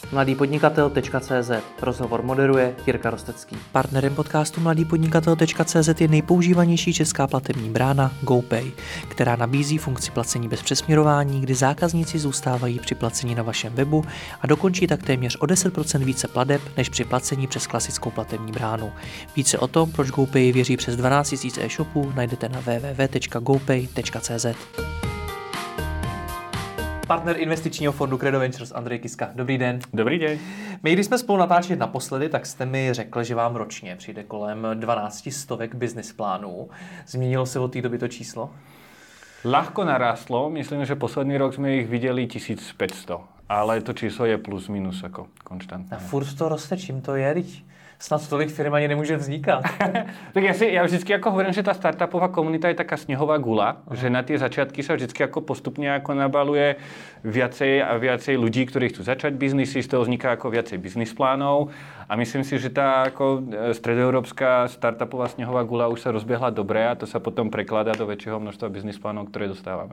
mladýpodnikatel.cz. Rozhovor moderuje Jirka Rostecký. Partnerem podcastu mladýpodnikatel.cz je nejpoužívanější česká platební brána GoPay, která nabízí funkci placení bez přesměrování, kdy zákazníci zůstávají při placení na vašem webu a dokončí tak téměř o 10% více plateb než při placení přes klasickou platební bránu. Více o tom, proč GoPay věří přes 12 000 e-shopů, najdete na www.gopay.cz. Partner investičního fondu Credo Ventures Andrej Kiska. Dobrý den. Dobrý den. My, když jsme spolu natáčeli naposledy, tak jste mi řekl, že vám ročně přijde kolem 1200 business plánů. Změnilo se od té doby to číslo? Ľahko narástlo. Myslím, že posledný rok jsme jich viděli 1500. Ale to číslo je plus minus jako konštantné. A furt to roste, čím to je? Snad tolik firm ani nemůže vznikat. Tak já vždycky jako hovorím, že ta startupová komunita je taká sněhová gula, že na tie začiatky sa vždycky jako postupně jako nabaluje viacej a viacej ľudí, ktorí chcú začať biznisy, z toho vzniká jako viacej business plánov a myslím si, že ta jako stredoeurópska startupová sněhová gula už sa rozběhla dobré a to sa potom prekladá do väčšieho množstva business plánov, ktoré dostáváme.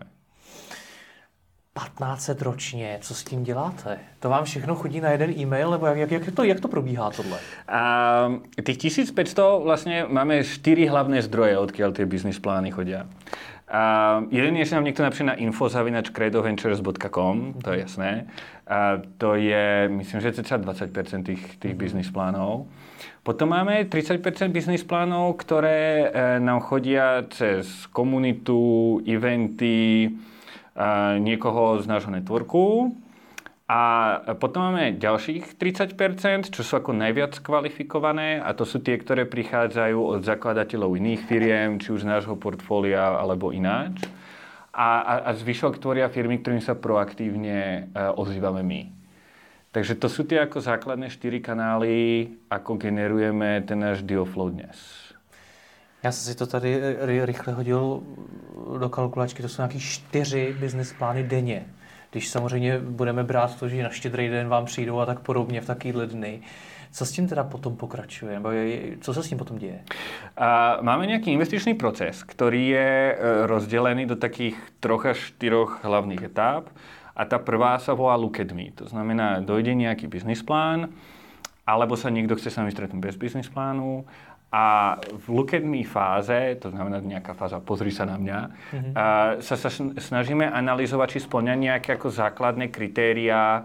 1500 ročně, co s tím děláte? To vám všechno chodí na jeden e-mail, nebo jak to probíhá tohle? Tých 1500 vlastně máme 4 hlavné zdroje, odkiaľ tie business plány chodia. Jeden je, že nám někdo napíše na info@credoventures.com, to je jasné. To je, myslím, že cca 20% tých business plánov. Potom máme 30% business plánov, ktoré nám chodia cez komunitu, eventy, niekoho z nášho networku. A potom máme ďalších 30%, čo sú ako najviac kvalifikované a to sú tie, ktoré prichádzajú od zakladateľov iných firiem, či už z nášho portfólia alebo ináč. A zvyšok tvoria firmy, ktorým sa proaktívne ozývame my. Takže to sú tie ako základné 4 kanály, ako generujeme ten náš deal flow dnes. Já jsem si to tady rychle hodil do kalkulačky, to jsou nějaký 4 business plány denně. Když samozřejmě budeme brát to, že na Štědrý den vám přijdou a tak podobně v takovýhle dny. Co s tím teda potom pokračuje? Co se s tím potom děje? Máme nějaký investičný proces, který je rozdelený do takých 3 až 4 hlavných etáp. A ta prvá sa volá Look at Me. To znamená, dojde nějaký business plán, alebo sa niekto chce s nami stretnúť bez business plánu. A v Look at Me fáze, to znamená nejaká fáza pozri sa na mňa, sa snažíme analyzovať, či spĺňa nejaké ako základné kritériá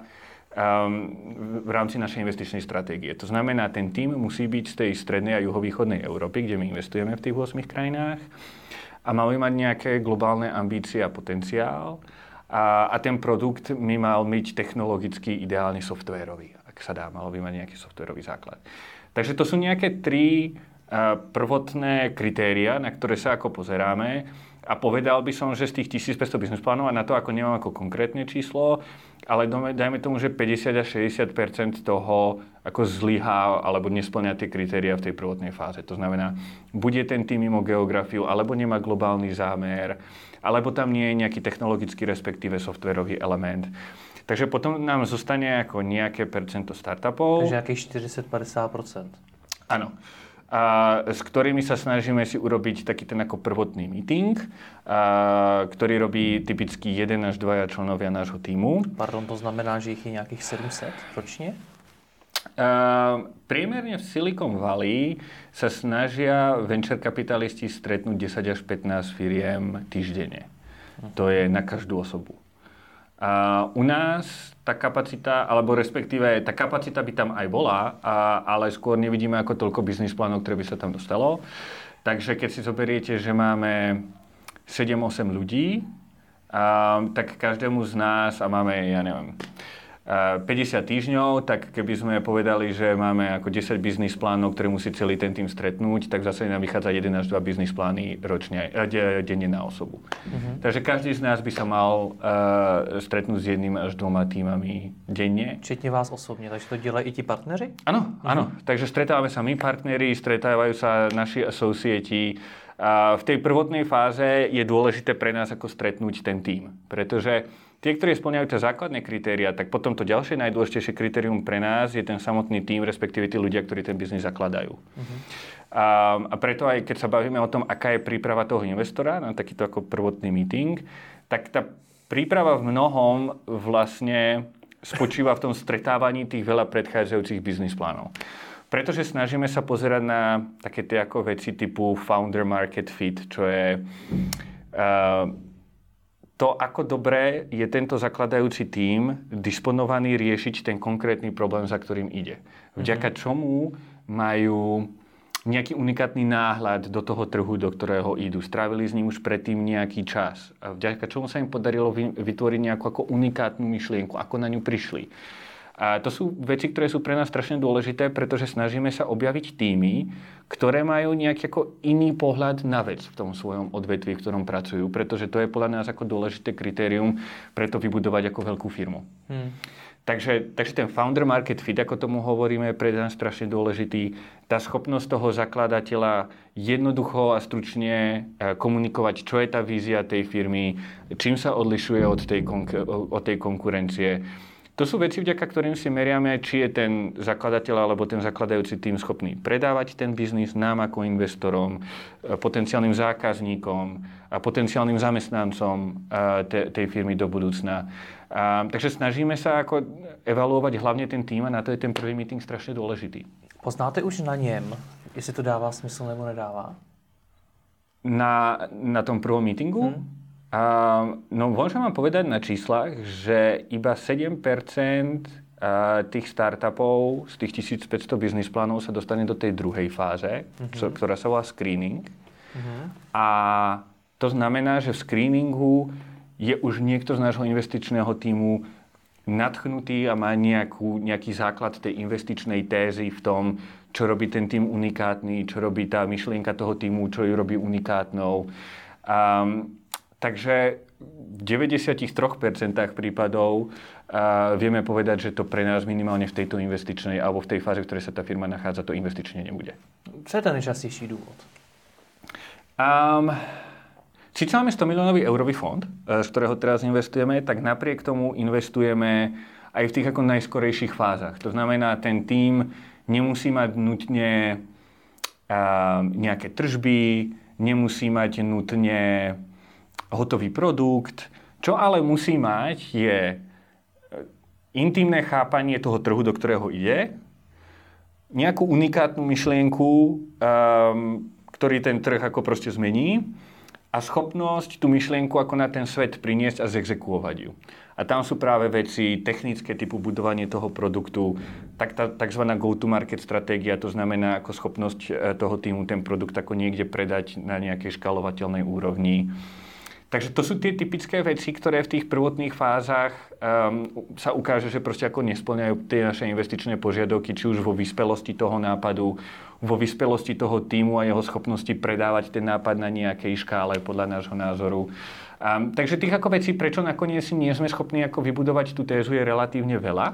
v rámci našej investičnej stratégie. To znamená, ten tým musí byť z tej strednej a juhovýchodnej Európy, kde my investujeme v tých 8 krajinách a máme mať nejaké globálne ambície a potenciál a ten produkt by mal byť technologicky ideálne softwarový, ak sa dá, malo by mať nejaký softwarový základ. Takže to sú nejaké 3 prvotné kritéria, na ktoré sa ako pozeráme a povedal by som, že z tých 1500 business plánov a na to ako nemám ako konkrétne číslo, ale dajme tomu, že 50 až 60% toho ako zlyhá alebo nesplňa tie kritéria v tej prvotnej fáze. To znamená, bude ten tým mimo geografiu, alebo nemá globálny zámer, alebo tam nie je nejaký technologický respektíve softwarový element. Takže potom nám zostane ako nejaké percento startupov. Takže nejakých 40-50%. Áno. S ktorými sa snažíme si urobiť taký ten ako prvotný meeting, ktorý robí typicky 1 až 2 členovia nášho týmu. Pardon, to znamená, že ich je nejakých 700 ročne? Priemerne v Silicon Valley sa snažia venture kapitalisti stretnúť 10 až 15 firiem týždenne. To je na každú osobu. U nás tá kapacita, alebo respektíve tá kapacita by tam aj bola, ale skôr nevidíme ako toľko business plánov, ktoré by sa tam dostalo. Takže keď si zoberiete, že máme 7-8 ľudí, tak každému z nás, a máme, ja neviem, 50 týždňov, tak keby sme povedali, že máme ako 10 business plánov, ktoré musí celý ten tým stretnúť, tak zase nám vychádza 1 až 2 business plány ročne, denne na osobu. Takže každý z nás by sa mal stretnúť s 1 až 2 týmami denne. Včetně vás osobně, takže to dělají i ti partneři? Áno, áno. Takže stretávame sa my partneri, stretávajú sa naši asociati. V tej prvotnej fáze je dôležité pre nás ako stretnúť ten tím, pretože tie, ktorí spĺňajú tie základné kritéria, tak potom to ďalšie najdôležitejšie kritérium pre nás je ten samotný tím, respektíve tí ľudia, ktorí ten biznis zakladajú. A preto aj keď sa bavíme o tom, aká je príprava toho investora na takýto ako prvotný meeting, tak tá príprava v mnohom vlastne spočíva v tom stretávaní tých veľa predchádzajúcich biznis plánov. Pretože snažíme sa pozerať na také tie ako veci typu founder market fit, čo je to, ako dobre je tento zakladajúci tím disponovaný riešiť ten konkrétny problém, za ktorým ide. Vďaka čomu majú nejaký unikátny náhľad do toho trhu, do ktorého idú. Strávili s ním už predtým nejaký čas. A vďaka čomu sa im podarilo vytvoriť nejakú ako unikátnu myšlienku, ako na ňu prišli. A to sú veci, ktoré sú pre nás strašne dôležité, pretože snažíme sa objaviť týmy, ktoré majú nejaký ako iný pohľad na vec v tom svojom odvetví, v ktorom pracujú, pretože to je podľa nás ako dôležité kritérium pre to vybudovať ako veľkú firmu. Takže ten founder market fit, ako tomu hovoríme, je pre nás strašne dôležitý. Tá schopnosť toho zakladateľa jednoducho a stručne komunikovať, čo je tá vízia tej firmy, čím sa odlišuje od tej konkurencie. To sú veci, vďaka ktorým si meriame, či je ten zakladateľ alebo ten zakladajúci tým schopný predávať ten biznis nám ako investorom, potenciálnym zákazníkom a potenciálnym zamestnancom tej firmy do budúcna. Takže snažíme sa ako evaluovať hlavne ten tým a na to je ten prvý meeting strašne dôležitý. Poznáte už na něm, jestli to dává smysl nebo nedává? Na tom prvom meetingu? No môžem vám povedať na číslach, že iba 7% tých startupov z tých 1500 biznis plánov sa dostane do tej druhej fáze, ktorá sa volá screening. A to znamená, že v screeningu je už niekto z nášho investičného tímu nadchnutý a má nejaký základ tej investičnej tézy v tom, čo robí ten tím unikátny, čo robí tá myšlienka toho tímu, čo ju robí unikátnou. Takže v 93% prípadov vieme povedať, že to pre nás minimálne v tejto investičnej alebo v tej fáze, v ktorej sa tá firma nachádza, to investične nebude. Co je ten nejčastější důvod? Sice máme 100 miliónový eurový fond, z ktorého teraz investujeme, tak napriek tomu investujeme aj v tých ako najskorejších fázach. To znamená, ten tím nemusí mať nutne nejaké tržby, nemusí mať nutne hotový produkt. Čo ale musí mať je intimné chápanie toho trhu, do ktorého ide, nejakú unikátnu myšlienku, ktorý ten trh ako proste zmení a schopnosť tú myšlienku ako na ten svet priniesť a zexekuovať ju. A tam sú práve veci technické typu budovanie toho produktu, tak tá takzvaná go-to-market stratégia, to znamená ako schopnosť toho týmu ten produkt ako niekde predať na nejakej škálovateľnej úrovni. Takže to sú tie typické veci, ktoré v tých prvotných fázach sa ukáže, že proste ako nesplňajú tie naše investičné požiadavky, či už vo vyspelosti toho nápadu, vo vyspelosti toho tímu a jeho schopnosti predávať ten nápad na nejakej škále podľa nášho názoru. Takže tých ako vecí, prečo nakoniec si nie sme schopní ako vybudovať tú tézu, je relatívne veľa.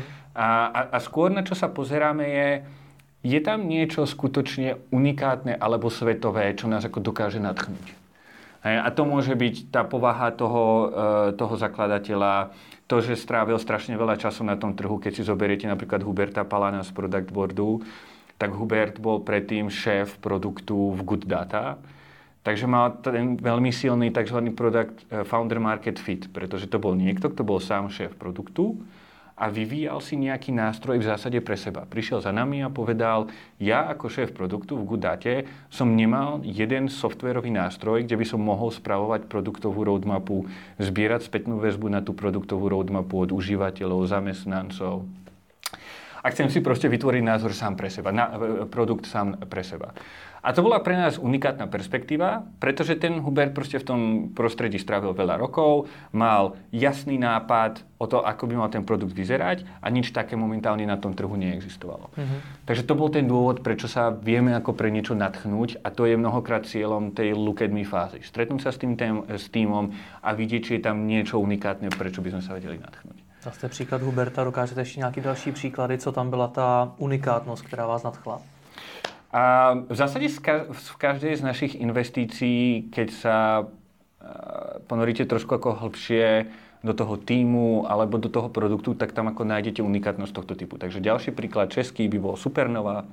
A skôr na čo sa pozeráme je tam niečo skutočne unikátne alebo svetové, čo nás ako dokáže nadchnúť. A to môže byť tá povaha toho zakladateľa, to, že strávil strašne veľa času na tom trhu. Keď si zoberiete napríklad Huberta Palana z Product Boardu, tak Hubert bol predtým šéf produktu v Good Data. Takže mal ten veľmi silný tzv. Product founder market fit, pretože to bol niekto, kto bol sám šéf produktu a vyvíjal si nejaký nástroj v zásade pre seba. Prišiel za nami a povedal, ja ako šéf produktu v Goodate som nemal jeden softwarový nástroj, kde by som mohol spravovať produktovú roadmapu, zbierať spätnú väzbu na tú produktovú roadmapu od užívateľov, zamestnancov. A chcem si proste vytvoriť názor sám pre seba, produkt sám pre seba. A to bola pre nás unikátna perspektíva, pretože ten Hubert proste v tom prostredí strávil veľa rokov, mal jasný nápad o to, ako by mal ten produkt vyzerať a nič také momentálne na tom trhu neexistovalo. Takže to bol ten dôvod, prečo sa vieme ako pre niečo nadchnúť a to je mnohokrát cieľom tej look at me fázy. Stretnúť sa s týmom a vidieť, či je tam niečo unikátne, prečo by sme sa vedeli nadchnúť. Zase příklad Huberta, dokážete ještě nějaký další příklady, co tam byla ta unikátnost, která vás nadchla? A v zásade v každej z našich investícií, keď sa ponoríte trošku ako hlbšie do toho tímu alebo do toho produktu, tak tam ako nájdete unikátnosť tohto typu. Takže ďalší príklad český by bol Supernova.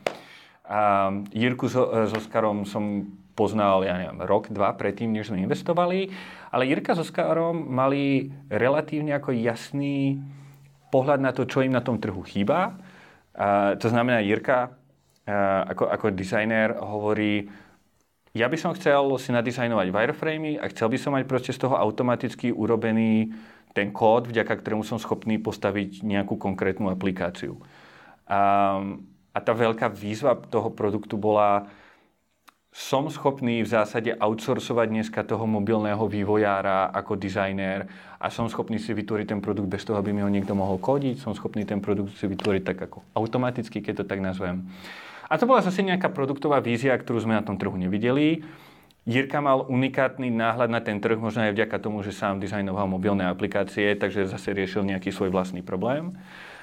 Jirku s Oskarom som poznal, ja neviem, rok, dva predtým, než sme investovali, ale Jirka s Oskarom mali relatívne ako jasný pohľad na to, čo im na tom trhu chýba. To znamená, Jirka ako dizajner hovorí, ja by som chcel si nadizajnovať wireframey a chcel by som mať proste z toho automaticky urobený ten kód, vďaka ktorému som schopný postaviť nejakú konkrétnu aplikáciu. A tá veľká výzva toho produktu bola, som schopný v zásade outsourcovať dneska toho mobilného vývojára ako dizajner a som schopný si vytvoriť ten produkt bez toho, aby mi ho niekto mohol kódiť. Som schopný ten produkt si vytvoriť tak ako automaticky, keď to tak nazvem. A to bola zase nejaká produktová vízia, ktorú sme na tom trhu nevideli. Jirka mal unikátny náhľad na ten trh, možno aj vďaka tomu, že sám dizajnoval mobilné aplikácie, takže zase riešil nejaký svoj vlastný problém.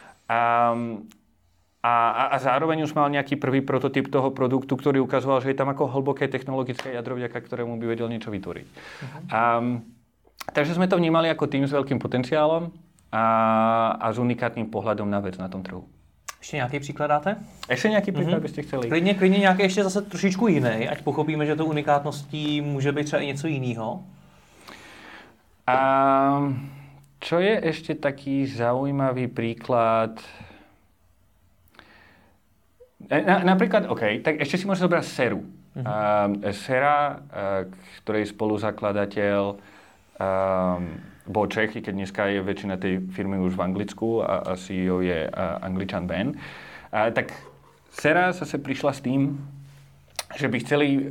A zároveň už mal nejaký prvý prototyp toho produktu, ktorý ukazoval, že je tam ako hlboké technologické jadro, vďaka ktorému by vedel niečo vytvoriť. Takže sme to vnímali ako tým s veľkým potenciálom a s unikátnym pohľadom na vec na tom trhu. Ještě nějaký příklad dáte? Ještě nějaký příklad byste chceli? Klidně nějaký ještě zase trošičku jiný, ať pochopíme, že to unikátností může být třeba i něco jiného. Čo je ešte taký zaujímavý príklad? Napríklad, tak ešte si môžete zobrať Seru. Sera, ktorej spoluzakladateľ bol Čech, keď dneska je väčšina tej firmy už v Anglicku a CEO je Angličan Ben. Tak Sera zase prišla s tým, že by chceli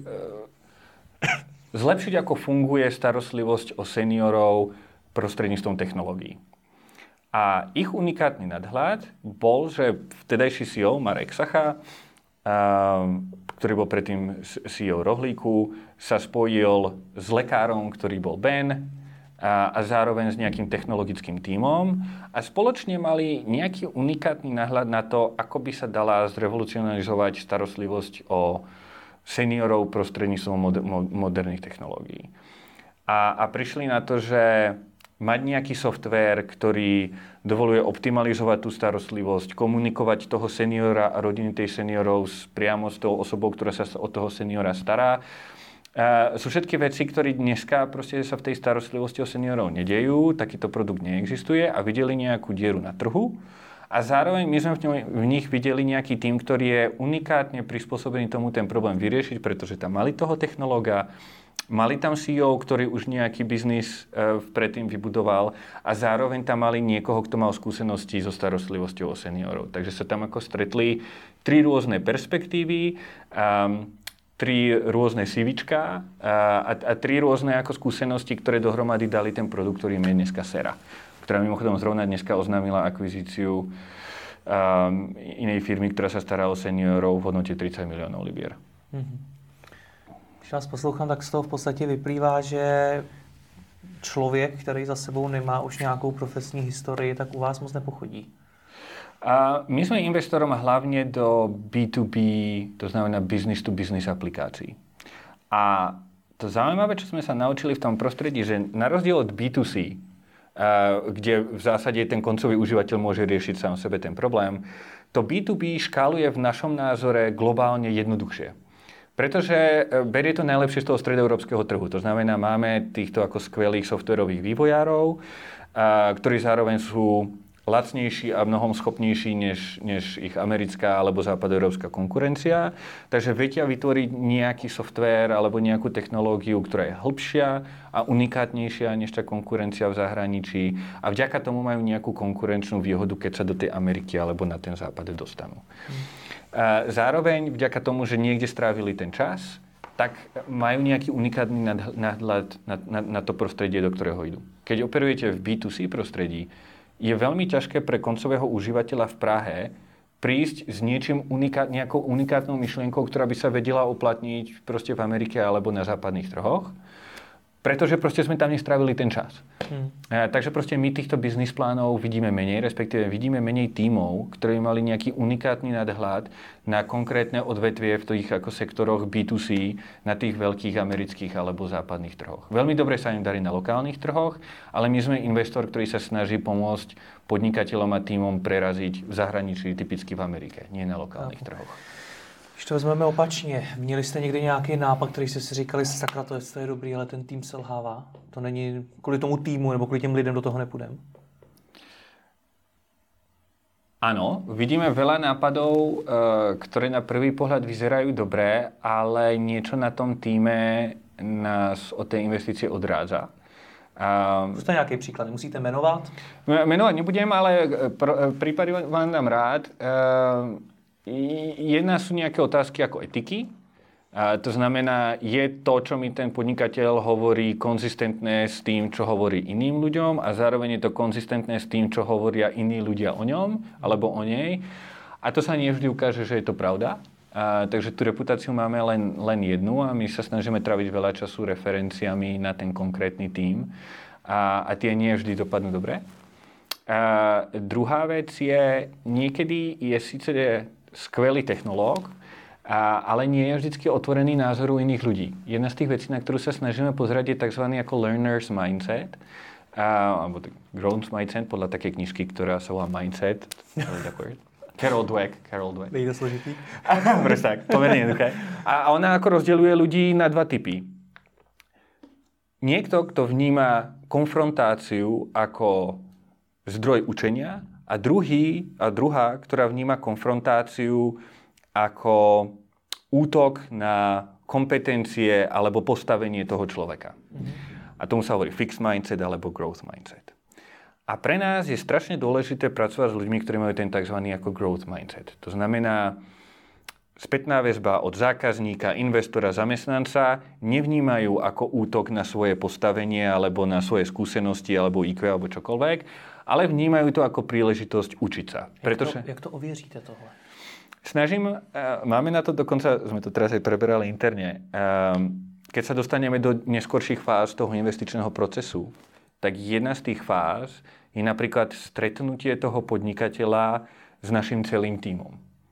zlepšiť, ako funguje starostlivosť o seniorov prostredníctvom technológií. A ich unikátny nadhľad bol, že vtedajší CEO Marek Sacha, ktorý bol predtým CEO Rohlíku, sa spojil s lekárom, ktorý bol Ben, a zároveň s nejakým technologickým tímom a spoločne mali nejaký unikátny náhľad na to, ako by sa dala zrevolucionalizovať starostlivosť o seniorov prostredníctvom moderných technológií. A prišli na to, že mať nejaký softvér, ktorý dovoluje optimalizovať tú starostlivosť, komunikovať toho seniora a rodiny tej seniorov priamo s tou osobou, ktorá sa o toho seniora stará, sú všetky veci, ktoré dneska proste sa v tej starostlivosti o seniorov nedejú, takýto produkt neexistuje a videli nejakú dieru na trhu a zároveň my sme v nich videli nejaký tým, ktorý je unikátne prispôsobený tomu ten problém vyriešiť, pretože tam mali toho technológa, mali tam CEO, ktorý už nejaký biznis predtým vybudoval a zároveň tam mali niekoho, kto mal skúsenosti so starostlivosťou o seniorov. Takže sa tam ako stretli tri rôzne perspektívy, tri rôzne CVčka a tri rôzne ako skúsenosti, ktoré dohromady dali ten produkt, ktorým je dneska Sera, ktorá mimochodom zrovna dneska oznámila akvizíciu inej firmy, ktorá sa stará o seniorov v hodnote 30 miliónov libier. Když vás poslouchám, tak z toho v podstatě vyplývá, že člověk, který za sebou nemá už nějakou profesní historii, tak u vás moc nepochodí. My sme investorom hlavne do B2B, to znamená business to business aplikácií. A to zaujímavé, čo sme sa naučili v tom prostredí, že na rozdiel od B2C, kde v zásade ten koncový užívateľ môže riešiť sám sebe ten problém, to B2B škáluje v našom názore globálne jednoduchšie. Pretože berie to najlepšie z toho stredoeurópskeho trhu. To znamená, máme týchto ako skvelých softwarových vývojárov, ktorí zároveň sú lacnejší a mnohom schopnejší než ich americká alebo západoeurópska konkurencia. Takže vedia vytvoriť nejaký softvér alebo nejakú technológiu, ktorá je hĺbšia a unikátnejšia než tá konkurencia v zahraničí. A vďaka tomu majú nejakú konkurenčnú výhodu, keď sa do tej Ameriky alebo na ten západ dostanú. Zároveň vďaka tomu, že niekde strávili ten čas, tak majú nejaký unikátny nadhľad na to prostredie, do ktorého idú. Keď operujete v B2C prostredí, je veľmi ťažké pre koncového užívateľa v Prahe prísť s nejakou unikátnou myšlienkou, ktorá by sa vedela uplatniť proste v Amerike alebo na západných trhoch, pretože proste sme tam nestrávili ten čas. Takže proste my týchto biznis plánov vidíme menej, respektíve vidíme menej tímov, ktorí mali nejaký unikátny nadhľad na konkrétne odvetvie v tých ako sektoroch B2C na tých veľkých amerických alebo západných trhoch. Veľmi dobre sa im darí na lokálnych trhoch, ale my sme investor, ktorý sa snaží pomôcť podnikateľom a tímom preraziť v zahraničí, typicky v Amerike, nie na lokálnych trhoch. Když to vezmeme opačně, měli jste někdy nějaký nápad, který jste si říkali, sakra, to je dobrý, ale ten tým selhává? To není kvůli tomu týmu nebo kvůli těm lidem do toho nepůjdem? Áno, vidíme veľa nápadov, ktoré na prvý pohľad vyzerajú dobré, ale niečo na tom týme nás od tej investície odrádza. Zkuste nějaký příklad, nemusíte jmenovat? Jmenovat nebudem, ale prípady vám dám rád. Jedna sú nejaké otázky ako etiky. To znamená, je to, čo mi ten podnikateľ hovorí, konzistentné s tým, čo hovorí iným ľuďom a zároveň je to konzistentné s tým, čo hovoria iní ľudia o ňom alebo o nej. A to sa nie vždy ukáže, že je to pravda. Takže tú reputáciu máme len jednu a my sa snažíme traviť veľa času referenciami na ten konkrétny tím a tie nie vždy dopadnú dobre. Druhá vec je, niekedy je síce skvelý technológ, ale nie je vždycky otvorený názoru iných ľudí. Jedna z tých vecí, na ktorú sa snažíme pozrieť, je tzv. Ako learner's mindset, alebo growth mindset, podľa takej knižky, ktorá sa volá Mindset. Carol Dweck. Nejde složitý. Presne tak, pomerne jednoduché. A ona ako rozdeľuje ľudí na dva typy. Niekto, kto vníma konfrontáciu ako zdroj učenia a druhá, ktorá vníma konfrontáciu ako útok na kompetencie alebo postavenie toho človeka. A tomu sa hovorí fixed mindset alebo growth mindset. A pre nás je strašne dôležité pracovať s ľuďmi, ktorí majú ten tzv. Ako growth mindset. To znamená, spätná väzba od zákazníka, investora, zamestnanca nevnímajú ako útok na svoje postavenie alebo na svoje skúsenosti alebo IQ alebo čokoľvek, ale vnímajú to ako príležitosť učiť sa. Jak to ověříte tohle? Máme na to dokonca, sme to teraz aj preberali interne, keď sa dostaneme do neskorších fáz toho investičného procesu, tak jedna z tých fáz je napríklad stretnutie toho podnikateľa s našim celým tímom.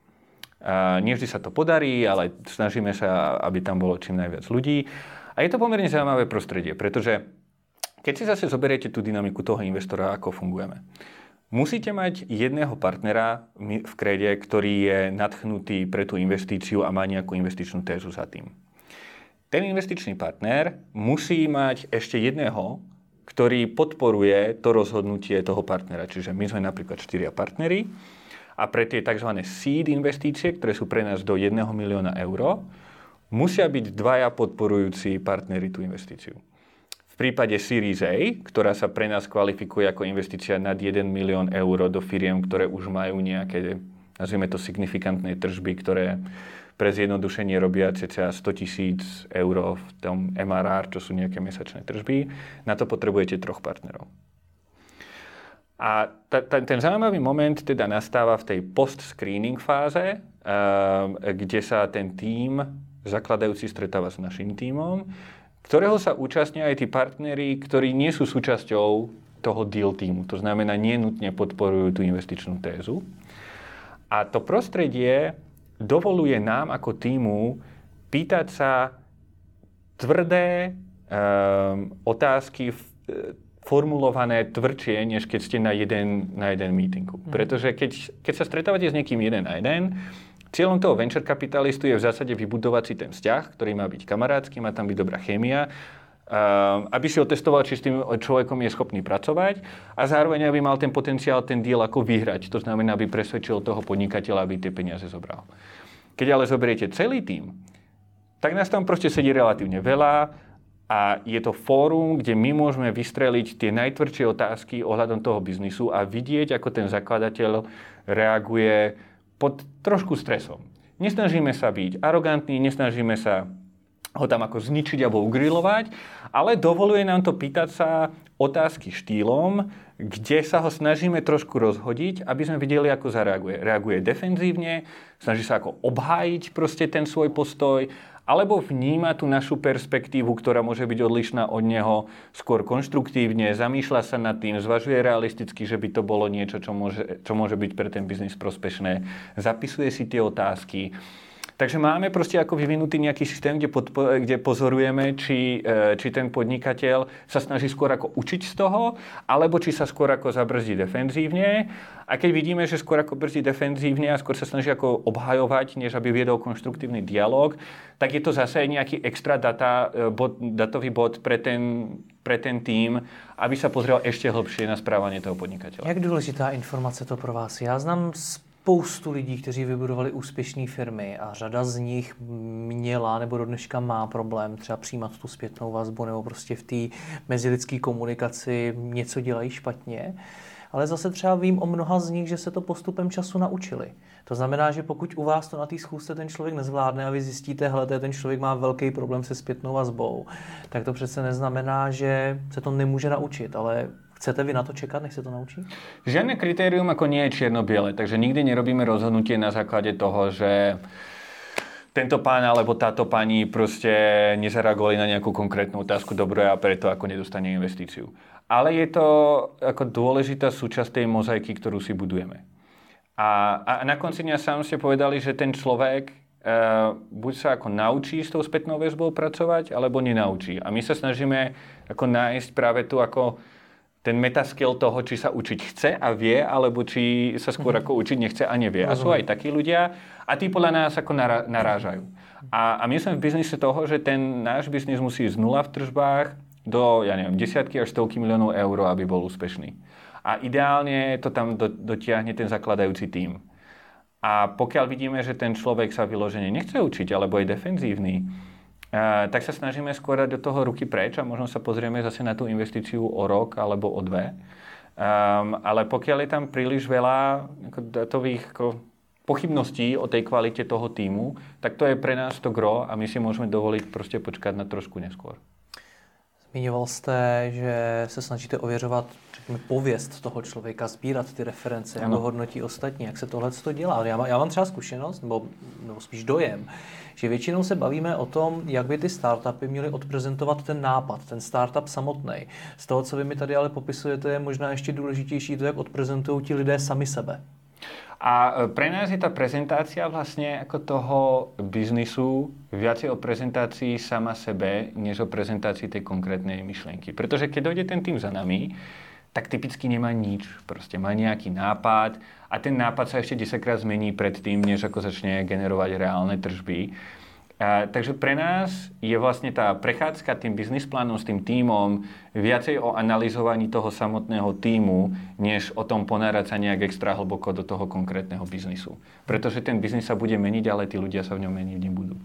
Nie vždy sa to podarí, ale snažíme sa, aby tam bolo čím najviac ľudí. A je to pomerne zaujímavé prostredie, pretože keď si zase zoberiete tú dynamiku toho investora, ako fungujeme. Musíte mať jedného partnera v Krede, ktorý je nadchnutý pre tú investíciu a má nejakú investičnú tézu za tým. Ten investičný partner musí mať ešte jedného, ktorý podporuje to rozhodnutie toho partnera. Čiže my sme napríklad 4 partneri a pre tie tzv. Seed investície, ktoré sú pre nás do 1 milióna eur, musia byť 2 podporujúci partneri tú investíciu. V prípade Series A, ktorá sa pre nás kvalifikuje ako investícia nad 1 milión eur do firiem, ktoré už majú nejaké, nazvime to, signifikantné tržby, ktoré pre zjednodušenie robia cca 100 000 eur v tom MRR, čo sú nejaké mesačné tržby. Na to potrebujete 3 partnerov. A ten zaujímavý moment teda nastáva v tej post-screening fáze, kde sa ten tím zakladajúci stretáva s našim tímom, ktorého sa účastnia aj tí partneri, ktorí nie sú súčasťou toho deal tímu. To znamená, nie nutne podporujú tú investičnú tézu. A to prostredie dovoluje nám ako tímu pýtať sa tvrdé otázky formulované tvrdšie, než keď ste na jeden meetingu. Pretože keď sa stretávate s niekým 1 na 1, cieľom toho venture kapitalistu je v zásade vybudovať si ten vzťah, ktorý má byť kamarátsky, má tam byť dobrá chémia, aby si otestoval, či s tým človekom je schopný pracovať a zároveň aby mal ten potenciál, ten deal ako vyhrať. To znamená, aby presvedčil toho podnikateľa, aby tie peniaze zobral. Keď ale zoberiete celý tím, tak nás tam proste sedí relatívne veľa a je to fórum, kde my môžeme vystreliť tie najtvrdšie otázky ohľadom toho biznisu a vidieť, ako ten zakladateľ reaguje pod trošku stresom. Nesnažíme sa byť arogantní, nesnažíme sa ho tam ako zničiť alebo ugrilovať, ale dovoluje nám to pýtať sa otázky štýlom, kde sa ho snažíme trošku rozhodiť, aby sme videli, ako zareaguje. Reaguje defenzívne, snaží sa ako obhájiť proste ten svoj postoj, alebo vníma tú našu perspektívu, ktorá môže byť odlišná od neho, skôr konštruktívne, zamýšľa sa nad tým, zvažuje realisticky, že by to bolo niečo, čo môže byť pre ten biznis prospešné, zapisuje si tie otázky. Takže máme proste ako vyvinutý nejaký systém, kde pozorujeme, či ten podnikateľ sa snaží skôr ako učiť z toho, alebo či sa skôr ako zabrzdí defenzívne. A keď vidíme, že skôr ako brzdí defenzívne a skôr sa snaží ako obhajovať, než aby viedol konštruktívny dialog, tak je to zase nejaký extra datový bod pre ten tým, aby sa pozrel ešte hlbšie na správanie toho podnikateľa. Jak důležitá informace to pro vás? Já znám spoustu lidí, kteří vybudovali úspěšné firmy a řada z nich měla nebo do dneška má problém třeba přijímat tu zpětnou vazbu nebo prostě v té mezilidské komunikaci něco dělají špatně. Ale zase třeba vím o mnoha z nich, že se to postupem času naučili. To znamená, že pokud u vás to na té schůzce ten člověk nezvládne a vy zjistíte, hele, ten člověk má velký problém se zpětnou vazbou, tak to přece neznamená, že se to nemůže naučit, ale chcete vy na to čekat, než se to naučí? Žiadne kritérium ako nie je čierno-biele, takže nikdy nerobíme rozhodnutie na základe toho, že tento pán alebo táto pani proste nezareagovali na nejakú konkrétnu otázku dobre a preto ako nedostane investíciu. Ale je to ako dôležitá súčasť tej mozaiky, ktorú si budujeme. A na konci dňa sám ste povedali, že ten človek buď sa ako naučí s tou spätnou väzbou pracovať, alebo nenaučí. A my sa snažíme ako nájsť práve tu ako ten metaskill toho, či sa učiť chce a vie, alebo či sa skôr ako učiť nechce a nevie. A sú aj takí ľudia a tí podľa nás ako narážajú. A my sme v biznise toho, že ten náš biznis musí z nula v tržbách do, ja neviem, desiatky až stovky miliónov eur, aby bol úspešný. A ideálne to tam dotiahne ten zakladajúci tím. A pokiaľ vidíme, že ten človek sa vyložene nechce učiť, alebo je defenzívny, tak sa snažíme skôr dať do toho ruky preč a možno sa pozrieme zase na tú investíciu o rok alebo o 2. Ale pokiaľ je tam príliš veľa datových pochybností o tej kvalite toho týmu, tak to je pre nás to gro a my si môžeme dovoliť proste počkať na trošku neskôr. Zmiňoval jste, že se snažíte ověřovat, řekněme, pověst toho člověka, sbírat ty reference, jak ho hodnotí ostatní, jak se tohle dělá. Já mám třeba zkušenost, nebo spíš dojem, že většinou se bavíme o tom, jak by ty startupy měly odprezentovat ten nápad, ten startup samotný. Z toho, co vy mi tady ale popisujete, je možná ještě důležitější to, jak odprezentují ti lidé sami sebe. A pre nás je tá prezentácia vlastne ako toho biznisu viacej o prezentácii sama sebe, než o prezentácii tej konkrétnej myšlienky. Pretože keď dojde ten tým za nami, tak typicky nemá nič. Proste má nejaký nápad a ten nápad sa ešte 10-krát zmení pred tým, než ako začne generovať reálne tržby. Takže pre nás je vlastne tá prechádzka tým biznis plánom s tým tímom viacej o analyzovaní toho samotného tímu, než o tom ponárať sa nejak extra hlboko do toho konkrétneho biznisu. Pretože ten biznis sa bude meniť, ale tí ľudia sa v ňom meniť nebudú.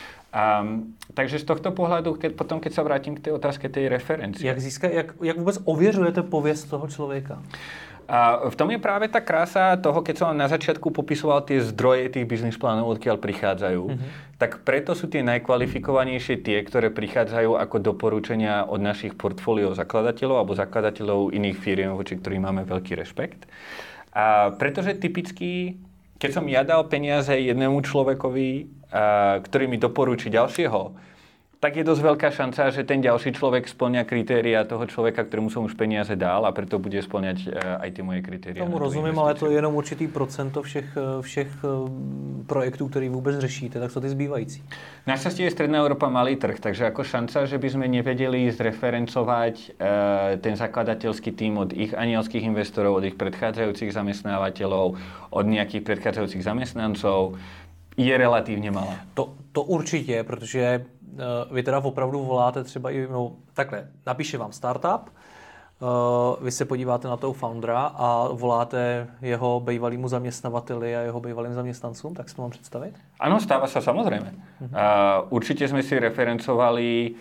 Takže z tohto pohľadu, keď sa vrátim k tej otázke tej referencie. Jak vôbec ověřujete pověst toho človeka? A v tom je práve tá krása toho, keď som vám na začiatku popisoval tie zdroje tých biznis plánov, odkiaľ prichádzajú, tak preto sú tie najkvalifikovanejšie tie, ktoré prichádzajú ako doporučenia od našich portfólió zakladateľov alebo zakladateľov iných firiem, voči ktorým máme veľký rešpekt. A pretože typicky, keď som ja dal peniaze jednému človekovi, ktorý mi doporučí ďalšieho, tak je dosť veľká šanca, že ten ďalší človek spĺňa kritéria toho človeka, ktorému som už peniaze dal a preto bude spĺňať aj tie moje kritéria. Tomu rozumím, ale to je jenom určitý procento všech projektů, který vůbec řešíte, tak co ty zbývající? Našťastie je Stredná Európa malý trh, takže ako šanca, že by sme nevedeli zreferencovať ten zakladateľský tím od ich anielských investorov, od ich predchádzajúcich zamestnávateľov, od nejakých predchádzajúcich zamestnancov, je relatívne malá. To určitě, protože vy teda opravdu voláte třeba i, takhle, napíše vám startup, vy se podíváte na toho foundera a voláte jeho bývalýmu zaměstnavateli a jeho bývalým zaměstnancům, tak si to mám představit? Áno, stáva sa samozrejme. Určite sme si referencovali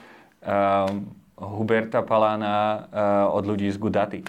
Huberta Palána od ľudí z Gudaty.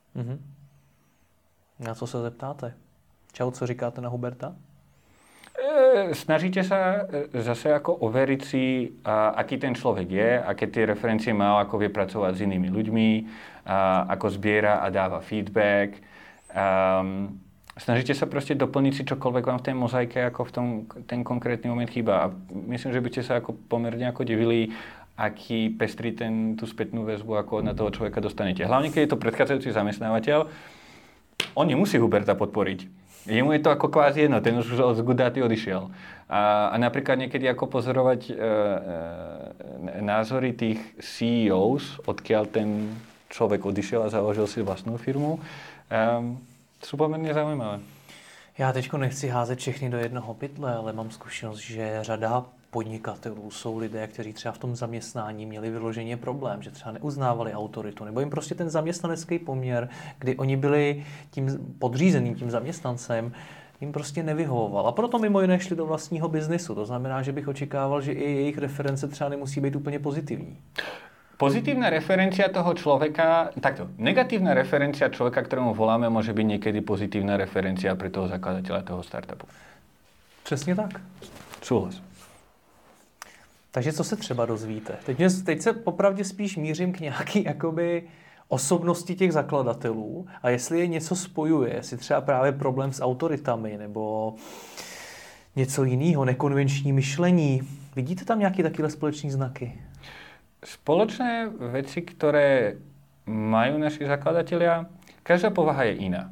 Na co se zeptáte? Čau, co říkáte na Huberta? Snažíte sa zase ako overiť si, aký ten človek je, aké tie referencie má, ako vie pracovať s inými ľuďmi, ako zbiera a dáva feedback. Snažíte sa proste doplniť si čokoľvek vám v tej mozaike, ako v tom ten konkrétny moment chýba. A myslím, že by ste sa ako pomerne ako divili, aký pestrý tú spätnú väzbu ako na toho človeka dostanete. Hlavne, keď je to predchádzajúci zamestnávateľ, on nemusí Huberta podporiť. Jemu je to ako kvázi jedno, ten už od Gudáty odišiel. A napríklad niekedy ako pozorovať názory tých CEOs, odkiaľ ten človek odišiel a založil si vlastnú firmu, sú pomerne zaujímavé. Já teďko nechci házet všechny do jednoho pytle, ale mám zkušenost, že řada podnikatelů jsou lidé, kteří třeba v tom zaměstnání měli vyloženě problém, že třeba neuznávali autoritu, nebo jim prostě ten zaměstnanecký poměr, kdy oni byli tím podřízeným, tím zaměstnancem, jim prostě nevyhovoval. A proto mimo jiné šli do vlastního biznisu. To znamená, že bych očekával, že i jejich reference třeba nemusí být úplně pozitivní. Pozitívna referencia toho človeka, takto, negatívna referencia človeka, ktorému voláme, môže byť niekedy pozitívna referencia pre toho zakladateľa toho startupu. Přesně tak. Súhlas. Takže co se třeba dozvíte? Teď se popravdě spíš mířím k nějaký jakoby osobnosti těch zakladatelů a jestli je něco spojuje, jestli třeba právě problém s autoritami nebo něco jiného, nekonvenční myšlení. Vidíte tam nějaké takové společné znaky? Spoločné veci, ktoré majú naši zakladatelia, každá povaha je iná.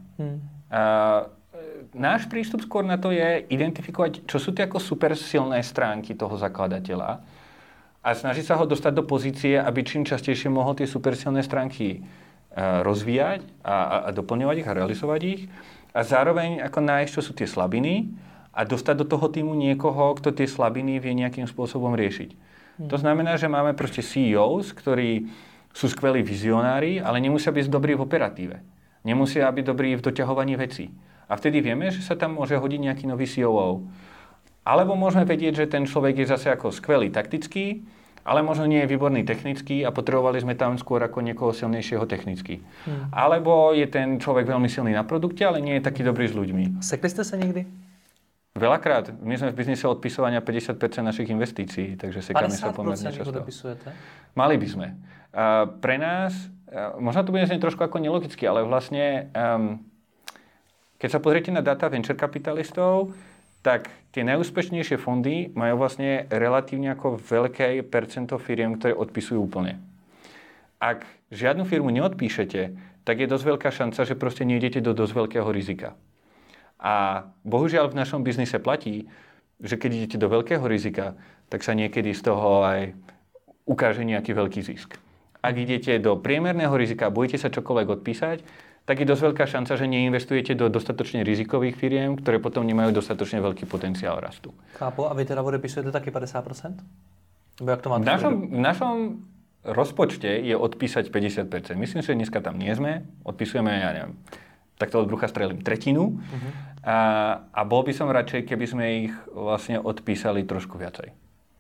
Náš prístup skôr na to je identifikovať, čo sú tie ako super silné stránky toho zakladateľa a snažiť sa ho dostať do pozície, aby čím častejšie mohol tie super silné stránky rozvíjať a doplňovať ich a realizovať ich a zároveň ako nájsť, čo sú tie slabiny a dostať do toho týmu niekoho, kto tie slabiny vie nejakým spôsobom riešiť. To znamená, že máme proste CEOs, ktorí sú skvelí vizionári, ale nemusia byť dobrí v operatíve. Nemusia byť dobrí v doťahovaní vecí. A vtedy vieme, že sa tam môže hodiť nejaký nový COO. Alebo môžeme vedieť, že ten človek je zase ako skvelý taktický, ale možno nie je výborný technický a potrebovali sme tam skôr ako niekoho silnejšieho technicky. Alebo je ten človek veľmi silný na produkte, ale nie je taký dobrý s ľuďmi. Sekli ste sa niekdy? Veľakrát. My sme v biznise odpisovania 50% našich investícií, takže sekáme sa pomerne často. 50% dopisujete? Mali by sme. Pre nás, možno to bude znieť trošku ako nelogicky, ale vlastne, keď sa pozriete na data venture kapitalistov, tak tie najúspešnejšie fondy majú vlastne relatívne ako veľké percento firiem, ktoré odpisujú úplne. Ak žiadnu firmu neodpíšete, tak je dosť veľká šanca, že proste nejdete do dosť veľkého rizika. A bohužiaľ v našom biznise platí, že keď idete do veľkého rizika, tak sa niekedy z toho aj ukáže nejaký veľký zisk. Ak idete do priemerného rizika a bojíte sa čokoľvek odpísať, tak je dosť veľká šanca, že neinvestujete do dostatočne rizikových firiem, ktoré potom nemajú dostatočne veľký potenciál rastu. Chápu. A vy teda odepisujete taky 50%? Nebo jak to máte? V našom rozpočte je odpísať 50%. Myslím, že dneska tam nie sme. Odpisujeme, ja neviem, takto od brucha strelím tretinu. A bol by som radšej, keby sme ich vlastne odpísali trošku viacej.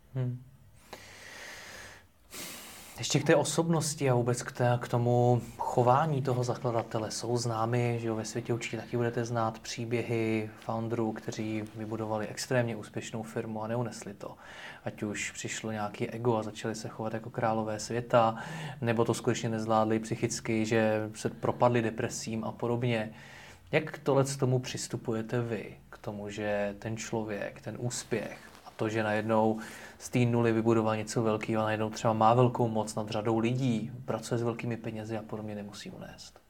Ještě k té osobnosti a vůbec k tomu chování toho zakladatele. Jsou známy, že ve světě určitě taky budete znát příběhy founderů, kteří vybudovali extrémně úspěšnou firmu a neunesli to. Ať už přišlo nějaký ego a začali se chovat jako králové světa, nebo to skutečně nezvládli psychicky, že se propadli depresím a podobně. Jak k tomu přistupujete vy? K tomu, že ten člověk, ten úspěch a to, že najednou z té nuly vybudoval něco velkého a najednou třeba má velkou moc nad řadou lidí, pracuje s velkými penězi a podobně, nemusí unést.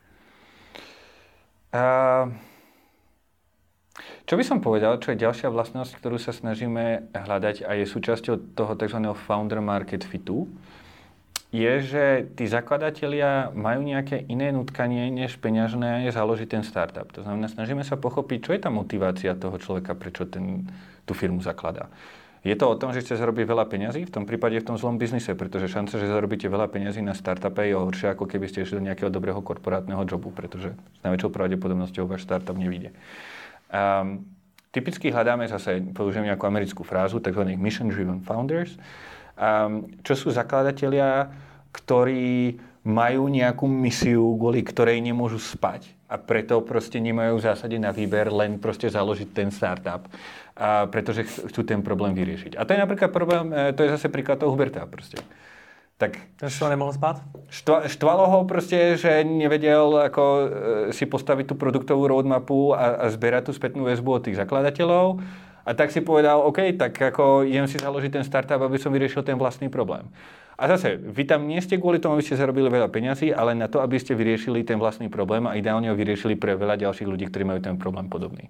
Čo by som povedal, čo je ďalšia vlastnosť, ktorú sa snažíme hľadať a je súčasťou toho tzv. Founder market fitu, je, že tí zakladatelia majú nejaké iné nutkanie než peňažné založiť ten startup. To znamená, snažíme sa pochopiť, čo je tá motivácia toho človeka, prečo tú firmu zakladá. Je to o tom, že chce zarobiť veľa peňazí? V tom prípade v tom zlom biznise, pretože šanca, že zarobíte veľa peňazí na startupe je horšia, ako keby ste išli do nejakého dobrého korporátneho jobu, pretože s najväčšou pravdepodobnosťou váš startup nevyjde. Typicky hľadáme zase, použijem nejakú americkú frázu, tzv. Mission-driven founders, čo sú zakladatelia, ktorí majú nejakú misiu, kvôli ktorej nemôžu spať a preto proste nemajú v zásade na výber len proste založiť ten startup, pretože chcú ten problém vyriešiť. A to je napríklad problém, to je zase príklad toho Huberta proste. Tak to nemohol spát? Štvalo ho proste, že nevedel ako si postaviť tú produktovú roadmapu a zbierať tú spätnú väzbu od tých zakladateľov. A tak si povedal, OK, tak ako idem si založiť ten startup, aby som vyriešil ten vlastný problém. A zase, vy tam nie ste kvôli tomu, aby ste zarobili veľa peňazí, ale na to, aby ste vyriešili ten vlastný problém a ideálne ho vyriešili pre veľa ďalších ľudí, ktorí majú ten problém podobný.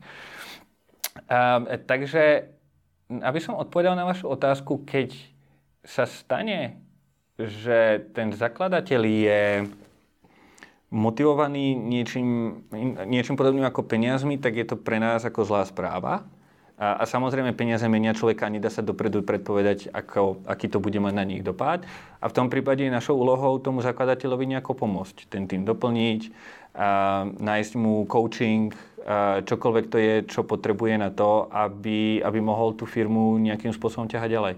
Takže, aby som odpovedal na vašu otázku, keď sa stane, že ten zakladateľ je motivovaný niečím podobným ako peniazmi, tak je to pre nás ako zlá správa. A samozrejme peniaze menia človeka a nedá sa dopredu predpovedať, aký to bude mať na nich dopad. A v tom prípade je našou úlohou tomu zakladateľovi nejako pomôcť. Ten tým doplniť, nájsť mu coaching, čokoľvek to je, čo potrebuje na to, aby mohol tú firmu nejakým spôsobom ťahať ďalej.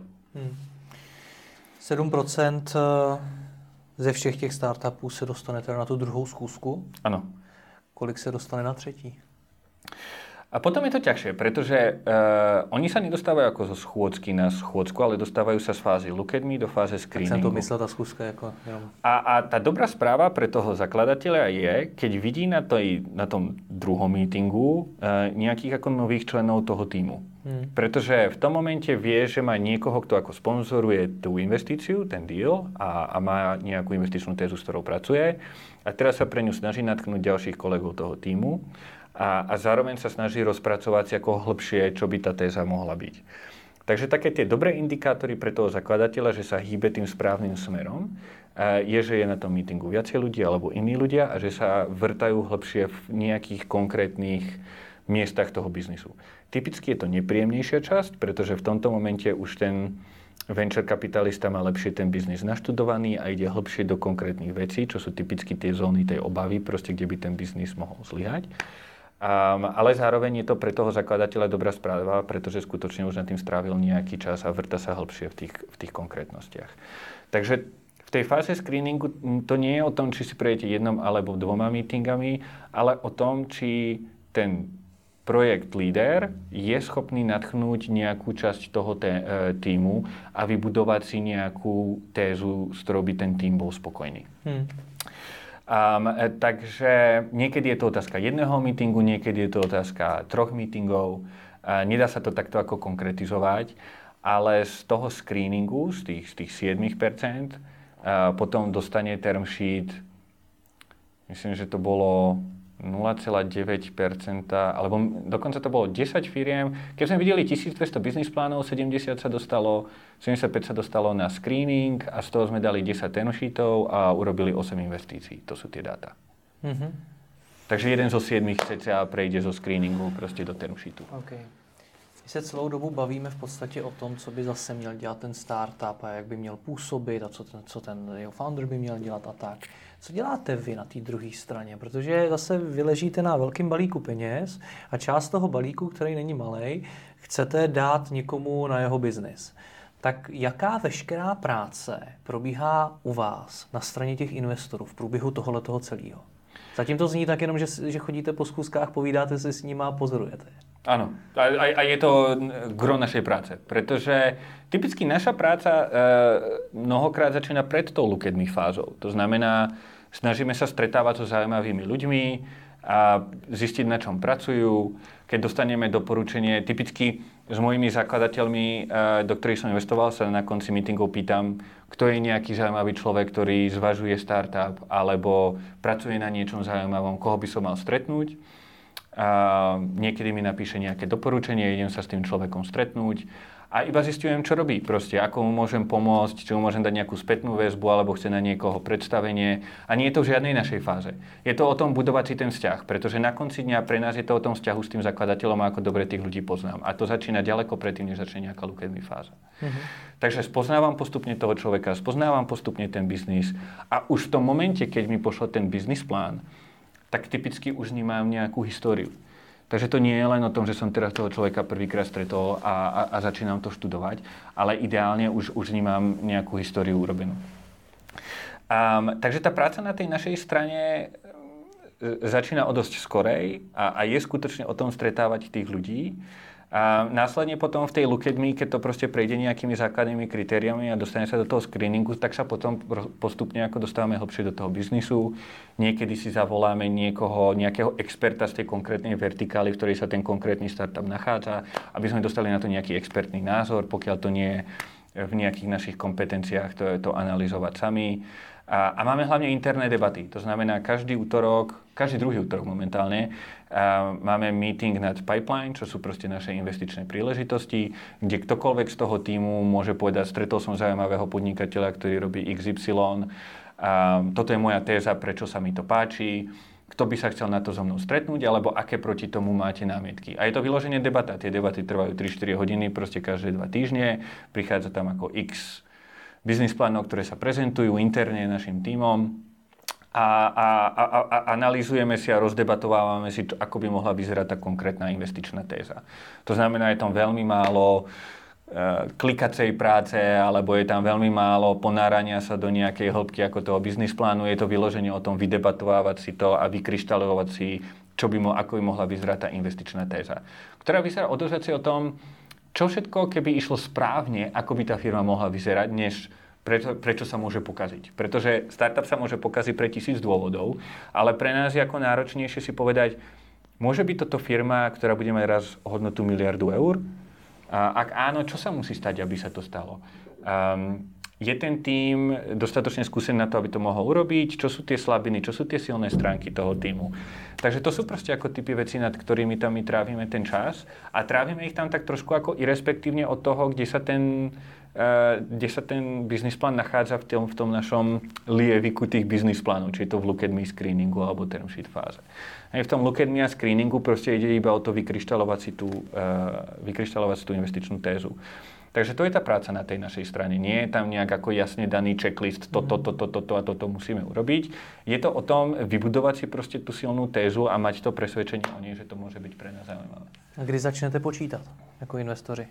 7% ze všech těch startupů se dostane teda na tu druhou schůzku. Ano. Kolik se dostane na třetí? A potom je to ťažšie, pretože oni sa nedostávajú ako zo schôdzky na schôdzku, ale dostávajú sa z fázy look at me do fáze screeningu. Tak som to myslel, tá skúška ako... A tá dobrá správa pre toho zakladateľa je, keď vidí na tom druhom meetingu nejakých ako nových členov toho týmu. Pretože v tom momente vie, že má niekoho, kto ako sponzoruje tú investíciu, ten deal a má nejakú investičnú tézu, s ktorou pracuje. A teraz sa pre ňu snaží natknúť ďalších kolegov toho týmu. A zároveň sa snaží rozpracovať si ako hlbšie, čo by tá téza mohla byť. Takže také tie dobré indikátory pre toho zakladateľa, že sa hýbe tým správnym smerom, je, že je na tom meetingu viacej ľudí alebo iní ľudia a že sa vrtajú hlbšie v nejakých konkrétnych miestach toho biznisu. Typicky je to nepríjemnejšia časť, pretože v tomto momente už ten venture kapitalista má lepšie ten biznis naštudovaný a ide hlbšie do konkrétnych vecí, čo sú typicky tie zóny tej obavy, proste kde by ten biznis mohol zlyhať. Ale zároveň je to pre toho zakladateľa dobrá správa, pretože skutočne už nad tým strávil nejaký čas a vrta sa hlbšie v tých konkrétnostiach. Takže v tej fáze screeningu to nie je o tom, či si prejdete jednom alebo dvoma meetingami, ale o tom, či ten projekt líder je schopný nadchnúť nejakú časť toho týmu a vybudovať si nejakú tézu, s ktorou by ten tím bol spokojný. Takže niekedy je to otázka jedného meetingu, niekedy je to otázka 3 meetingov. Nedá sa to takto ako konkretizovať, ale z toho screeningu, z tých 7%, potom dostane term sheet, myslím, že to bolo 0,9%, alebo dokonca to bolo 10 firiem. Keď sme videli 1200 biznis plánov, 75 sa dostalo na screening a z toho sme dali 10 term sheetov a urobili 8 investícií. To sú tie dáta. Takže jeden zo 7 cca prejde zo screeningu proste do term sheetu. Okay. My se celou dobu bavíme v podstatě o tom, co by zase měl dělat ten startup a jak by měl působit a co ten jeho founder by měl dělat a tak. Co děláte vy na té druhé straně? Protože zase vy ležíte na velkém balíku peněz a část toho balíku, který není malej, chcete dát někomu na jeho biznis. Tak jaká veškerá práce probíhá u vás na straně těch investorů v průběhu tohoto celého? Zatím to zní tak jenom, že chodíte po schůzkách, povídáte si s nimi a pozorujete. Áno, a je to gro našej práce, pretože typicky naša práca mnohokrát začína pred tou look at me fázou. To znamená, snažíme sa stretávať so zaujímavými ľuďmi a zistiť, na čom pracujú. Keď dostaneme doporučenie, typicky s mojimi zakladateľmi, do ktorých som investoval, sa na konci meetingov pýtam, kto je nejaký zaujímavý človek, ktorý zvažuje startup alebo pracuje na niečom zaujímavom, koho by som mal stretnúť. Niekedy mi napíše nejaké doporučenie, idem sa s tým človekom stretnúť a iba zistujem, čo robí proste, ako mu môžem pomôcť, či mu môžem dať nejakú spätnú väzbu alebo chce na niekoho predstavenie a nie je to v žiadnej našej fáze. Je to o tom budovať si ten vzťah, pretože na konci dňa pre nás je to o tom vzťahu s tým zakladateľom a ako dobre tých ľudí poznám. A to začína ďaleko predtým, než začne nejaká look at me fáza. Takže spoznávam postupne toho človeka, spoznávam postupne ten biznis a už v tom momente, keď mi pošle ten biznis plán, tak typicky už vnímam nejakú históriu. Takže to nie je len o tom, že som teraz toho človeka prvýkrát stretol a začínam to študovať, ale ideálne už vnímam nejakú históriu urobenú. Takže tá práca na tej našej strane začína o dosť skorej a je skutočne o tom stretávať tých ľudí. A následne potom v tej look at me, keď to proste prejde nejakými základnými kritériami a dostane sa do toho screeningu, tak sa potom postupne ako dostávame hlbšie do toho biznisu. Niekedy si zavoláme nejakého experta z tej konkrétnej vertikály, v ktorej sa ten konkrétny startup nachádza, aby sme dostali na to nejaký expertný názor, pokiaľ to nie je v nejakých našich kompetenciách to analyzovať sami. A máme hlavne interné debaty. To znamená, každý druhý útorok momentálne máme meeting nad pipeline, čo sú proste naše investičné príležitosti, kde ktokoľvek z toho tímu môže povedať, stretol som zaujímavého podnikateľa, ktorý robí XY. Toto je moja téza, prečo sa mi to páči. Kto by sa chcel na to so mnou stretnúť, alebo aké proti tomu máte námietky. A je to vyloženie debata. Tie debaty trvajú 3-4 hodiny, proste každé 2 týždne. Prichádza tam ako x biznis plánov, ktoré sa prezentujú interne našim tímom a analyzujeme si a rozdebatovávame si, ako by mohla vyzerať tá konkrétna investičná téza. To znamená, je tam veľmi málo klikacej práce, alebo je tam veľmi málo ponárania sa do nejakej hĺbky ako toho biznis plánu. Je to vyloženie o tom vydebatovávať si to a vykryštalovať si, ako by mohla vyzerať tá investičná téza. Ktorá vyzerá o o tom, čo všetko, keby išlo správne, ako by tá firma mohla vyzerať, než prečo sa môže pokaziť. Pretože startup sa môže pokaziť pre 1000 dôvodov, ale pre nás je ako náročnejšie si povedať, môže byť toto firma, ktorá bude mať raz hodnotu 1 000 000 eur? A ak áno, čo sa musí stať, aby sa to stalo? Je ten tím dostatočne skúsený na to, aby to mohol urobiť? Čo sú tie slabiny? Čo sú tie silné stránky toho tímu? Takže to sú proste ako typy veci, nad ktorými tam my trávime ten čas. A trávime ich tam tak trošku ako irespektívne od toho, kde sa ten biznis plán nachádza v tom našom lieviku tých biznis plánov. Či je to v look at me screeningu alebo term sheet fáze. V tom look at me a screeningu proste ide iba o to vykryštalovať si tú investičnú tézu. Takže to je tá práca na tej našej strane. Nie je tam nejak ako jasne daný checklist, toto a toto musíme urobiť. Je to o tom vybudovať si proste tú silnú tézu a mať to presvedčenie o nej, že to môže byť pre nás zaujímavé. A kdy začnete počítať ako investori?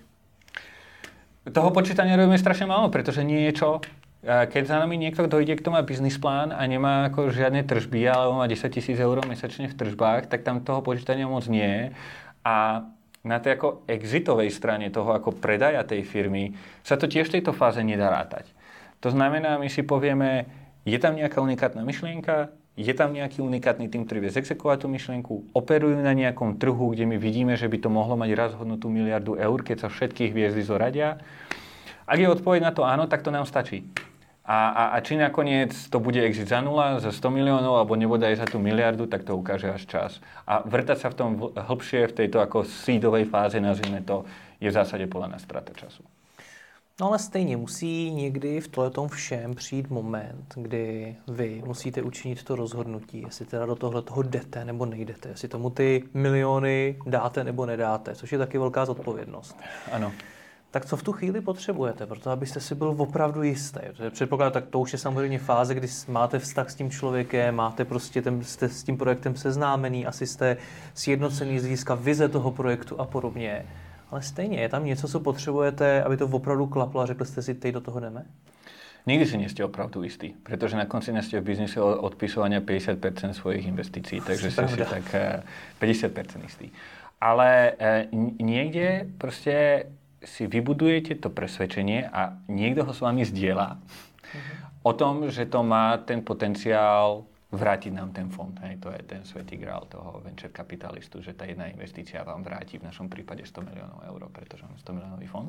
Toho počítania robíme strašne málo, pretože nie je čo. Keď za nami niekto dojde, kto má biznis plán a nemá ako žiadne tržby, alebo má 10 000 eur mesačne v tržbách, tak tam toho počítania moc nie je. A na tej ako exitovej strane toho ako predaja tej firmy sa to tiež v tejto fáze nedá rátať. To znamená, my si povieme, je tam nejaká unikátna myšlienka, je tam nejaký unikátny tým, ktorý vie zexekovať tú myšlienku, operujú na nejakom trhu, kde my vidíme, že by to mohlo mať raz hodnotu 1 000 000 eur, keď sa všetkých hviezdy zoradia. Ak je odpoveď na to áno, tak to nám stačí. A či nakoniec to bude exit za 0, za 100 miliónov, alebo nebodaj za tú 1 000 000, tak to ukáže až čas. A vrtať sa v tom hlbšie, v tejto ako seedovej fáze, nazvime to, je v zásade podľa nás strata času. No ale stejně musí někdy v tom všem přijít moment, kdy vy musíte učinit to rozhodnutí, jestli teda do toho jdete nebo nejdete, jestli tomu ty miliony dáte nebo nedáte, což je taky velká zodpovědnost. Ano. Tak co v tu chvíli potřebujete, proto abyste si byl opravdu jistý? Předpokládám, tak to už je samozřejmě fáze, kdy máte vztah s tím člověkem, máte prostě jste s tím projektem seznámený, asi jste sjednocený z hlediska vize toho projektu a podobně. Ale stejně, je tam něco, co potřebujete, aby to opravdu klaplo a řekli jste si, teď do toho jdeme? Nikdy si nie ste opravdu istí, pretože na konci ste v biznise odpisovania 50% svojich investícií, takže ste si tak 50% istí. Ale niekde proste si vybudujete to presvedčenie a niekto ho s vami zdieľa o tom, že to má ten potenciál vrátiť nám ten fond. Hej, to je ten svätý grál toho venture kapitalistu, že tá jedna investícia vám vráti v našom prípade 100 miliónov eur, pretože máme 100 miliónový fond.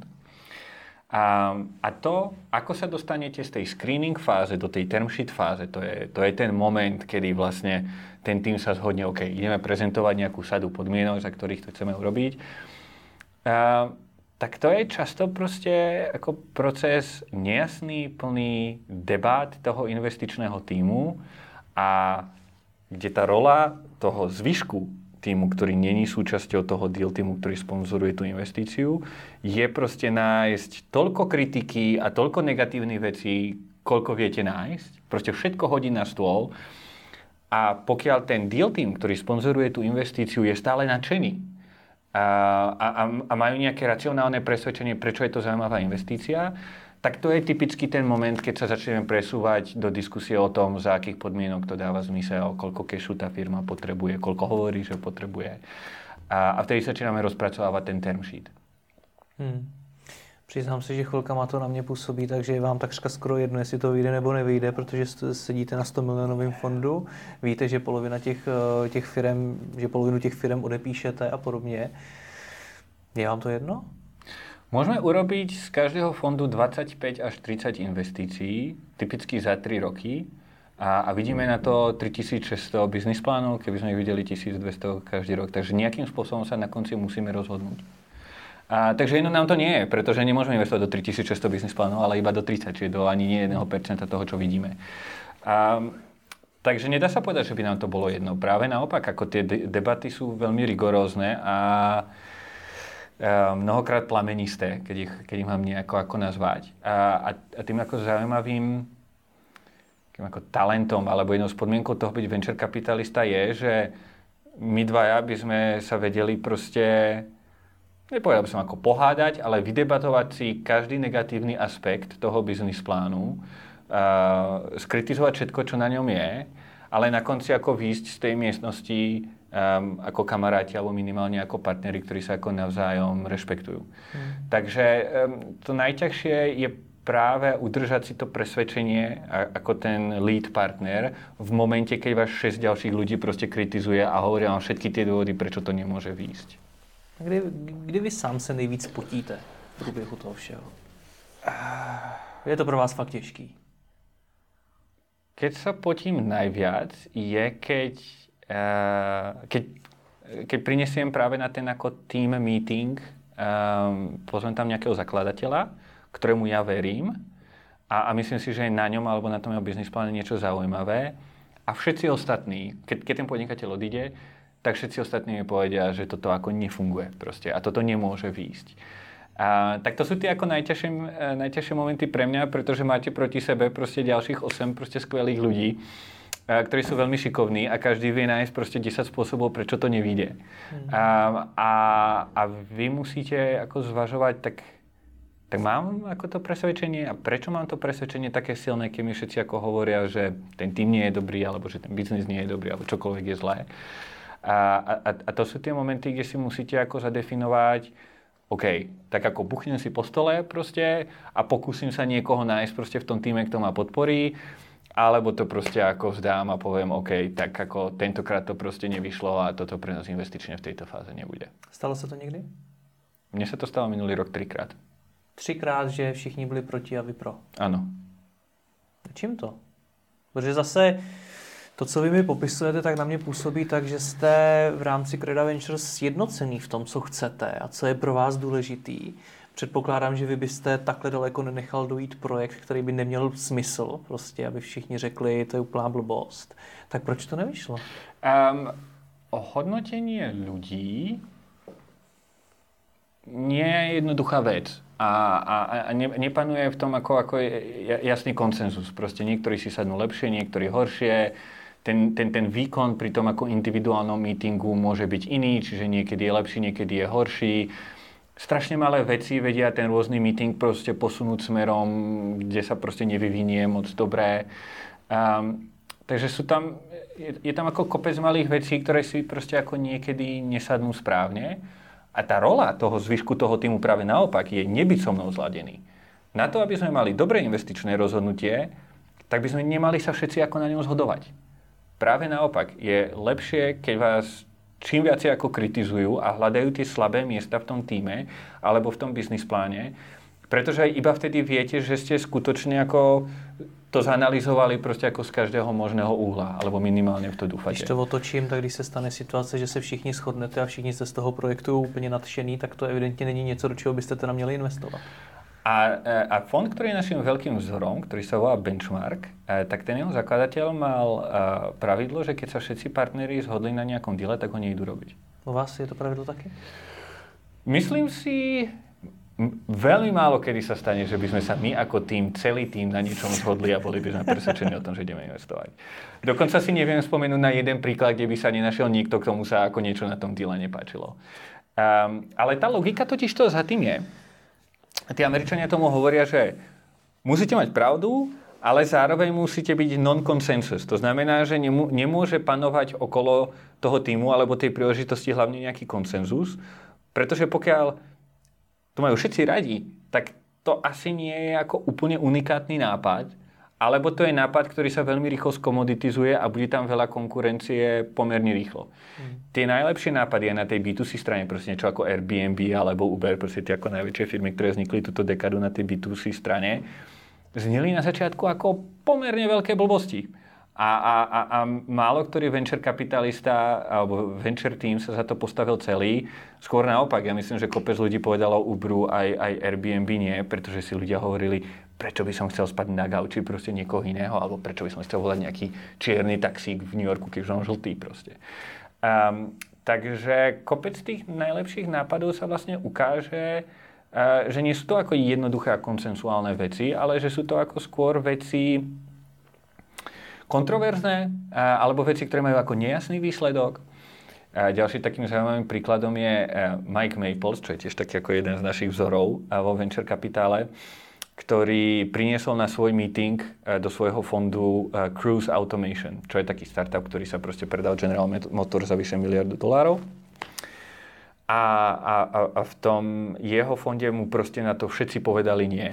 A to, ako sa dostanete z tej screening fáze do tej term sheet fáze, to je ten moment, kedy vlastne ten tým sa zhodne, OK, ideme prezentovať nejakú sadu podmienok, za ktorých to chceme urobiť. Tak to je často proste ako proces nejasný, plný debát toho investičného tímu, a kde tá rola toho zvyšku týmu, ktorý není súčasťou toho deal týmu, ktorý sponzoruje tú investíciu, je proste nájsť toľko kritiky a toľko negatívnych vecí, koľko viete nájsť. Proste všetko hodí na stôl. A pokiaľ ten deal tým, ktorý sponzoruje tú investíciu, je stále nadšený a majú nejaké racionálne presvedčenie, prečo je to zaujímavá investícia, tak to je typicky ten moment, keď sa začneme presúvať do diskusie o tom, za akých podmienok to dáva zmysel, koľko kešu tá firma potrebuje, koľko hovorí, že potrebuje. A vtedy začíname rozpracovávať ten term sheet. Přiznám se, že chvilkama to na mě působí, takže je vám takřka skoro jedno, jestli to vyjde nebo nevyjde, protože sedíte na 100 milionovém fondu, víte, že polovinu těch firem odepíšete a podobně. Je vám to jedno? Môžeme urobiť z každého fondu 25 až 30 investícií, typicky za 3 roky a vidíme na to 3600 biznis plánov, keby sme ich videli 1200 každý rok. Takže nejakým spôsobom sa na konci musíme rozhodnúť. Takže jedno nám to nie je, pretože nemôžeme investovať do 3600 biznis plánov, ale iba do 30, čiže do ani nie 1% toho, čo vidíme. Takže nedá sa povedať, že by nám to bolo jedno. Práve naopak, ako tie debaty sú veľmi rigorózne a mnohokrát plamenisté, keď ich mám nejako ako nazvať. A tým ako zaujímavým ako talentom alebo jednou z podmienkou toho byť venture kapitalista je, že my dvaja by sme sa vedeli proste, nepovedal by som ako pohádať, ale vydebatovať si každý negatívny aspekt toho biznis plánu, skritizovať všetko, čo na ňom je, ale na konci ako výjsť z tej miestnosti ako kamaráti alebo minimálne ako partneri, ktorí sa ako navzájom rešpektujú. Takže to najťažšie je práve udržať si to presvedčenie ako ten lead partner v momente, keď vás 6 ďalších ľudí proste kritizuje a hovoria vám všetky tie dôvody, prečo to nemôže výjsť. Kdy vy sám se nejvíc potíte v průběhu toho všeho? Je to pro vás fakt těžký? Keď sa potím najviac je, keď prinesiem práve na ten ako team meeting, pozvem tam nejakého zakladateľa, ktorému ja verím a myslím si, že je na ňom alebo na tom jeho biznis pláne niečo zaujímavé. A všetci ostatní, keď ten podnikateľ odíde, tak všetci ostatní mi povedia, že toto ako nefunguje proste a toto nemôže výjsť. Tak to sú tie ako najťažšie momenty pre mňa, pretože máte proti sebe proste ďalších 8 proste skvelých ľudí, ktorí sú veľmi šikovní a každý vie nájsť proste 10 spôsobov, prečo to nevyjde. A vy musíte ako zvažovať, tak mám ako to presvedčenie a prečo mám to presvedčenie také silné, keď mi všetci ako hovoria, že ten tým nie je dobrý, alebo že ten biznis nie je dobrý, alebo čokoľvek je zlé. A to sú tie momenty, kde si musíte ako zadefinovať, OK, tak ako buchnem si po stole proste a pokúsim sa niekoho nájsť proste v tom týme, kto ma podporí, alebo to proste ako vzdám a poviem, OK, tak ako tentokrát to proste nevyšlo a toto pre nás investične v tejto fáze nebude. Stalo sa to niekdy? Mne sa to stalo minulý rok 3-krát. 3krát, že všichni byli proti a vy pro. Ano. Čím to? Protože zase to, co vy mi popisujete, tak na mě působí tak, že jste v rámci Creda Ventures sjednocený v tom, co chcete a co je pro vás důležitý. Předpokládám, že vy byste takhle daleko nenechal dojít projekt, který by neměl smysl, prostě, aby všichni řekli, to je úplná blbost. Tak proč to nevyšlo? Hodnotenie ľudí nie je jednoduchá vec. A nepanuje v tom ako jasný konsenzus. Proste niektorí si sadnú lepšie, niektorí horšie. Ten výkon pri tom ako individuálnom meetingu môže byť iný, čiže niekedy je lepší, niekedy je horší. Strašne malé veci vedia ten rôzny meeting proste posunúť smerom, kde sa proste nevyvinie moc dobré. Takže je tam ako kopec malých vecí, ktoré si proste ako niekedy nesadnú správne. A tá rola toho zvyšku toho týmu práve naopak je nebyť so mnou zladený. Na to, aby sme mali dobré investičné rozhodnutie, tak by sme nemali sa všetci ako na ňom zhodovať. Práve naopak, je lepšie, keď vás čím viacej ako kritizujú a hľadajú tie slabé miesta v tom týme alebo v tom biznis pláne, pretože iba vtedy viete, že ste skutočne ako to zanalizovali prostě jako z každého možného úhla, alebo minimálně v to doufáte. Když to otočím, tak když se stane situace, že se všichni shodnete a všichni jste z toho projektu úplně nadšený, tak to evidentně není něco, do čeho byste teda měli investovat. A fond, ktorý je naším veľkým vzorom, ktorý sa volá Benchmark, tak ten jeho zakladateľ mal pravidlo, že keď sa všetci partneri zhodli na nejakom díle, tak ho nejdú robiť. U vás je to pravidlo taky? Myslím si, veľmi málo kedy sa stane, že by sme sa my ako tým, celý tým na niečom zhodli a boli by sme presvedčení o tom, že ideme investovať. Dokonca si neviem spomenúť na jeden príklad, kde by sa nenašiel nikto, k tomu sa ako niečo na tom díle nepáčilo. Ale tá logika totiž to za tým je, tí Američania tomu hovoria, že musíte mať pravdu, ale zároveň musíte byť non-consensus. To znamená, že nemôže panovať okolo toho týmu alebo tej príležitosti hlavne nejaký konsenzus, pretože pokiaľ to majú všetci radi, tak to asi nie je ako úplne unikátny nápad alebo to je nápad, ktorý sa veľmi rýchlo skomoditizuje a bude tam veľa konkurencie pomerne rýchlo. Tie najlepšie nápady je na tej B2C strane, proste niečo ako Airbnb alebo Uber, proste tie ako najväčšie firmy, ktoré vznikli túto dekadu na tej B2C strane, zneli na začiatku ako pomerne veľké blbosti. A málo ktorý venture kapitalista alebo venture team sa za to postavil celý. Skôr naopak, ja myslím, že kopec ľudí povedalo Uberu aj Airbnb nie, pretože si ľudia hovorili, prečo by som chcel spať na gauči proste niekoho iného, alebo prečo by som chcel volať nejaký čierny taxík v New Yorku, keď on žltý proste. Takže kopec tých najlepších nápadov sa vlastne ukáže, že nie sú to ako jednoduché a konsensuálne veci, ale že sú to ako skôr veci kontroverzné, alebo veci, ktoré majú ako nejasný výsledok. Ďalší takým zaujímavým príkladom je Mike Maples, čo je tiež taký ako jeden z našich vzorov vo venture kapitále, ktorý priniesol na svoj meeting do svojho fondu Cruise Automation, čo je taký startup, ktorý sa proste predal General Motors za vyše $1 miliardu. A v tom jeho fonde mu proste na to všetci povedali nie.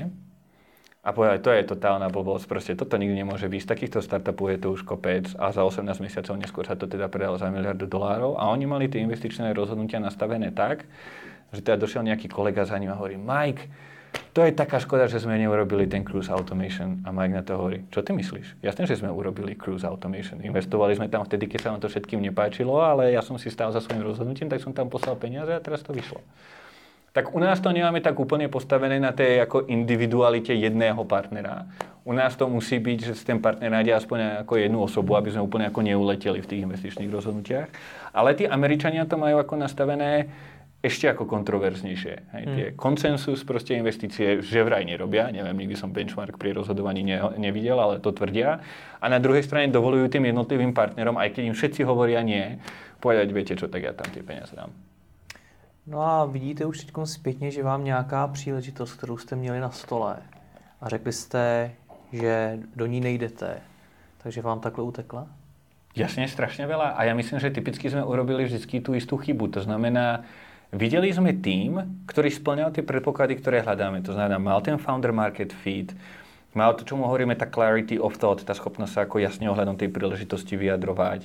A povedali, to je totálna blbosť, proste toto nikdy nemôže byť. Z takýchto startupov je to už kopec a za 18 mesiacov neskôr sa to teda predalo za $1 miliardu a oni mali tie investičné rozhodnutia nastavené tak, že teda došiel nejaký kolega za ním a hovorí, Mike, to je taká škoda, že sme neurobili ten Cruise Automation. A Mike na to hovorí, čo ty myslíš? Jasné, že sme urobili Cruise Automation. Investovali sme tam vtedy, keď sa nám to všetkým nepáčilo, ale ja som si stál za svojím rozhodnutím, tak som tam poslal peniaze a teraz to vyšlo. Tak u nás to nemáme tak úplne postavené na tej ako individualite jedného partnera. U nás to musí byť, že si ten partner nájde aspoň ako jednu osobu, aby sme úplne ako neuleteli v tých investičných rozhodnutiach. Ale tí Američania to majú ako nastavené ešte ako kontroverznejšie. Hej, tie konsensus proste investície že vraj nerobia. Neviem, nikdy som benchmark pri rozhodovaní nevidel, ale to tvrdia. A na druhej strane dovolujú tým jednotlivým partnerom, aj keď im všetci hovoria nie, povedať, viete čo, tak ja tam tie peniaze dám. No a vidíte už teď zpětně, že vám nějaká příležitost, kterou jste měli na stole a řekli jste, že do ní nejdete, takže vám takhle utekla? Jasne, strašne veľa. A ja myslím, že typicky sme urobili vždycky tú istú chybu. To znamená, videli sme tým, ktorý spĺňal tie predpoklady, ktoré hľadáme. To znamená, mal ten founder market fit, mal to, čo mu hovoríme, tá clarity of thought, tá schopnosť sa ako jasne ohľadom tej príležitosti vyjadrovať.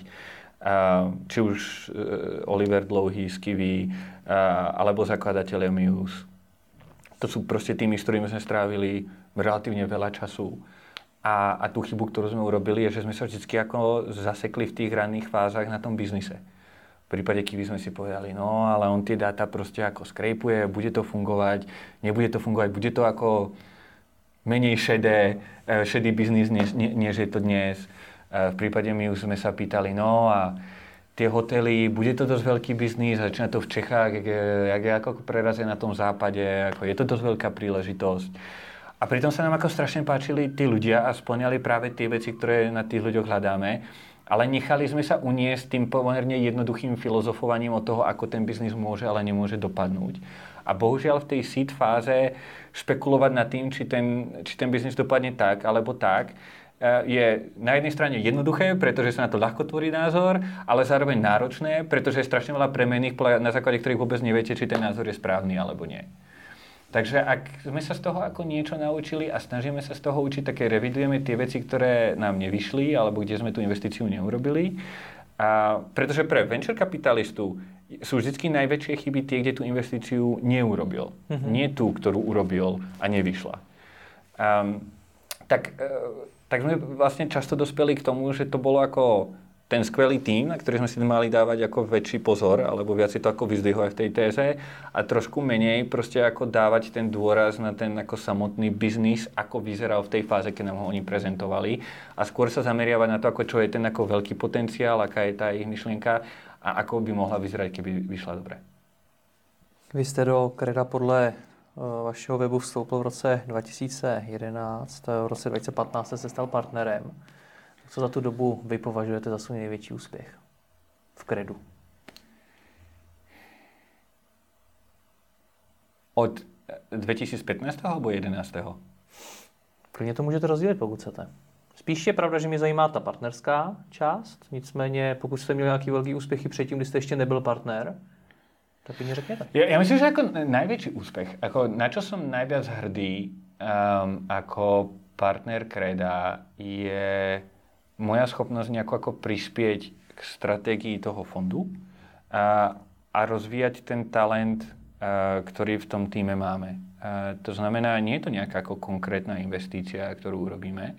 Či už Oliver Dlouhý z Kiwi, alebo zakladatelia Muse. To sú proste tými, s ktorými sme strávili relatívne veľa času. A tú chybu, ktorú sme urobili, je, že sme sa vždy ako zasekli v tých ranných fázach na tom biznise. V prípade Kiwi sme si povedali, no ale on tie dáta proste ako skrejpuje, bude to fungovať, nebude to fungovať, bude to ako menej šedý biznis, než je to dnes. V prípade my už sme sa pýtali, no a tie hotely, bude to dosť veľký biznis, začína to v Čechách, jak je ako prerazie na tom západe, ako je to dosť veľká príležitosť. A pritom sa nám ako strašne páčili tí ľudia a spĺňali práve tie veci, ktoré na tých ľuďoch hľadáme, ale nechali sme sa uniesť tým pomerne jednoduchým filozofovaním od toho, ako ten biznis môže, ale nemôže dopadnúť. A bohužiaľ v tej seed fáze špekulovať nad tým, či ten biznis dopadne tak, alebo tak, je na jednej strane jednoduché, pretože sa na to ľahko tvorí názor, ale zároveň náročné, pretože je strašne veľa premenných, na základe ktorých vôbec neviete, či ten názor je správny alebo nie. Takže ak sme sa z toho ako niečo naučili a snažíme sa z toho učiť, také revidujeme tie veci, ktoré nám nevyšli alebo kde sme tú investíciu neurobili. Pretože pre venture kapitalistu sú vždy najväčšie chyby tie, kde tú investíciu neurobil. Nie tú, ktorú urobil a nevyšla. Tak sme vlastne často dospeli k tomu, že to bolo ako ten skvelý tím, na ktorý sme si mali dávať ako väčší pozor, alebo viac si to ako vyzdvihovať v tej téze a trošku menej proste ako dávať ten dôraz na ten ako samotný biznis, ako vyzeral v tej fáze, keď nám ho oni prezentovali a skôr sa zameriavať na to, ako čo je ten ako veľký potenciál, aká je tá ich myšlienka a ako by mohla vyzerať, keby vyšla dobre. Vy jste do Creda podle vašeho webu vstoupil v roce 2011, v roce 2015 se stal partnerem. Co za tu dobu vy považujete za svůj největší úspěch v Credu? Od 2015. alebo 11. Klidně to můžete rozdělit, pokud chcete. Spíš je pravda, že mě zajímá ta partnerská část, nicméně pokud jste měli nějaký velký úspěchy předtím, kdy jste ještě nebyl partner, tak mi řekněte. Ja myslím, že ako najväčší úspech, ako na čo som najviac hrdý, ako partner Creda je moja schopnosť nejako ako prispieť k stratégii toho fondu a rozvíjať ten talent, ktorý v tom týme máme. To znamená, nie je to nejaká ako konkrétna investícia, ktorú urobíme,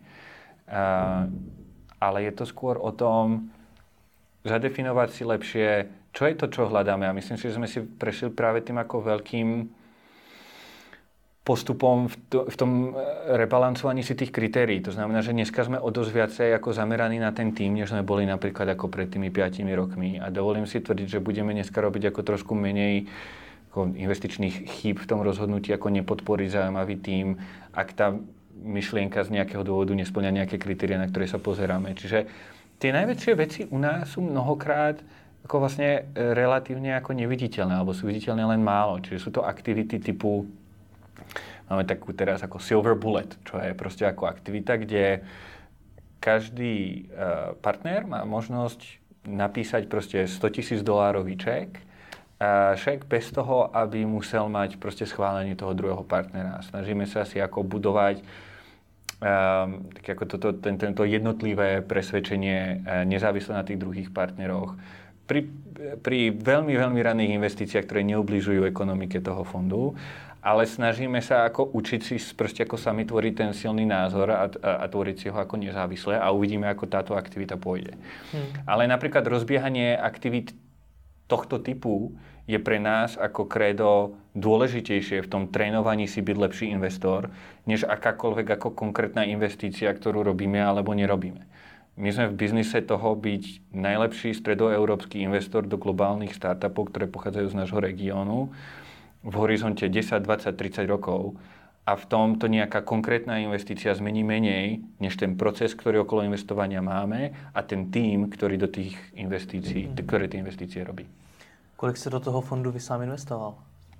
ale je to skôr o tom zadefinovať si lepšie, čo je to, čo hľadáme. A myslím si, že sme si prešli práve tým ako veľkým postupom v tom rebalancovaní si tých kritérií. To znamená, že dneska sme o dosť viacej ako zameraní na ten tým, než sme boli napríklad ako pred tými 5 rokmi. A dovolím si tvrdiť, že budeme dneska robiť ako trošku menej ako investičných chýb v tom rozhodnutí, ako nepodporiť zaujímavý tým, ak tá myšlienka z nejakého dôvodu nesplňa nejaké kritéria, na ktoré sa pozeráme. Čiže tie najväčšie veci u nás sú mnohokrát ako vlastne relatívne ako neviditeľné, alebo sú viditeľné len málo. Čiže sú to aktivity typu, máme takú teraz ako Silver Bullet, čo je proste ako aktivita, kde každý partner má možnosť napísať proste $100,000 ček, šek bez toho, aby musel mať proste schválenie toho druhého partnera. Snažíme sa si ako budovať tak ako tento jednotlivé presvedčenie nezávisle na tých druhých partneroch. Pri veľmi, veľmi raných investíciách, ktoré neubližujú ekonomike toho fondu, ale snažíme sa ako učiť si proste ako sami tvoriť ten silný názor a tvoriť si ho ako nezávisle a uvidíme, ako táto aktivita pôjde. Ale napríklad rozbiehanie aktivít tohto typu je pre nás ako Credo dôležitejšie v tom trénovaní si byť lepší investor, než akákoľvek ako konkrétna investícia, ktorú robíme alebo nerobíme. My sme v biznise toho byť najlepší stredoeurópsky investor do globálnych startupov, ktoré pochádzajú z nášho regiónu v horizonte 10, 20, 30 rokov. A v tom to nejaká konkrétna investícia zmení menej, než ten proces, ktorý okolo investovania máme a ten tým, ktorý do tých investícií, ktoré tie investície robí. Kolik jste do toho fondu vy sám investoval?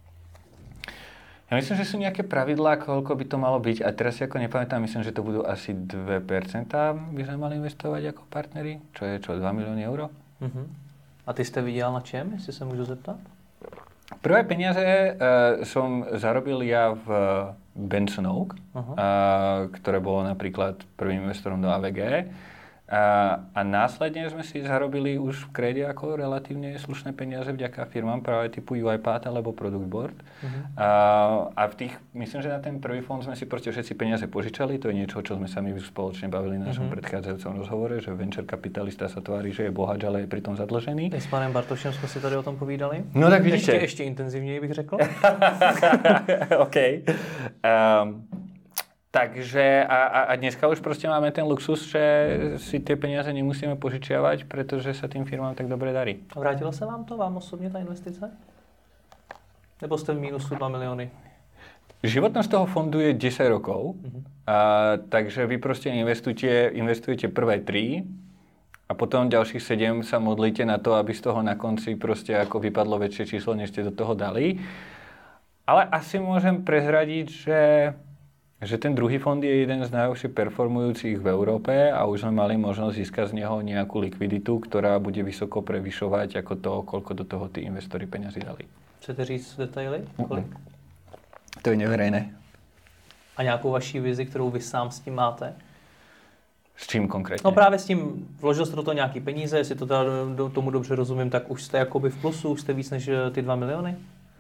Ja myslím, že sú nejaké pravidlá, koľko by to malo byť. A teraz si ako nepamätám, myslím, že to budú asi 2% by sme mali investovať ako partneri. Čo je 2 milióny eur. A ty jste viděl na čem, jestli se můžu zeptat? Prvé peniaze som zarobil ja v Benson Oak, ktoré bolo napríklad prvým investorom do AVG. A následne sme si zarobili už v Crede ako relatívne slušné peniaze vďaka firmám práve typu UiPath alebo Product Board. A v tých, myslím, že na ten prvý fond sme si proste všetci peniaze požičali. To je niečo, čo sme sa my spoločne bavili na našom predchádzajúcom rozhovore, že venture kapitalista sa tvári, že je bohač, ale je pritom zadlžený. S panem Bartošem jsme si tady o tom povídali. No tak vidíte. Ještě intenzivněji bych řekl. OK. Takže a dneska už proste máme ten luxus, že si tie peniaze nemusíme požičiavať, pretože sa tým firmám tak dobre darí. A vrátilo se vám to, vám osobně ta investice? Nebo jste v mínusu 2 milióny? Životnosť toho fondu je 10 rokov, takže vy proste investujete prvé 3 a potom ďalších 7 sa modlíte na to, aby z toho na konci proste ako vypadlo väčšie číslo, než ste do toho dali. Ale asi môžem prezradiť, že ten druhý fond je jeden z najlepšie performujúcich v Európe a už sme mali možnosť získať z neho nejakú likviditu, ktorá bude vysoko prevyšovať ako to, koľko do toho tí investori peňazí dali. Chcete říct detaily? Kolik? To je neverejné. A nějakou vaší vizi, kterou vy sám s tím máte? S čím konkrétně? No právě s tím, vložil jste do toho nějaký peníze, jestli to teda tomu dobře rozumím, tak už jste jakoby v plusu, už jste víc než ty 2 milióny?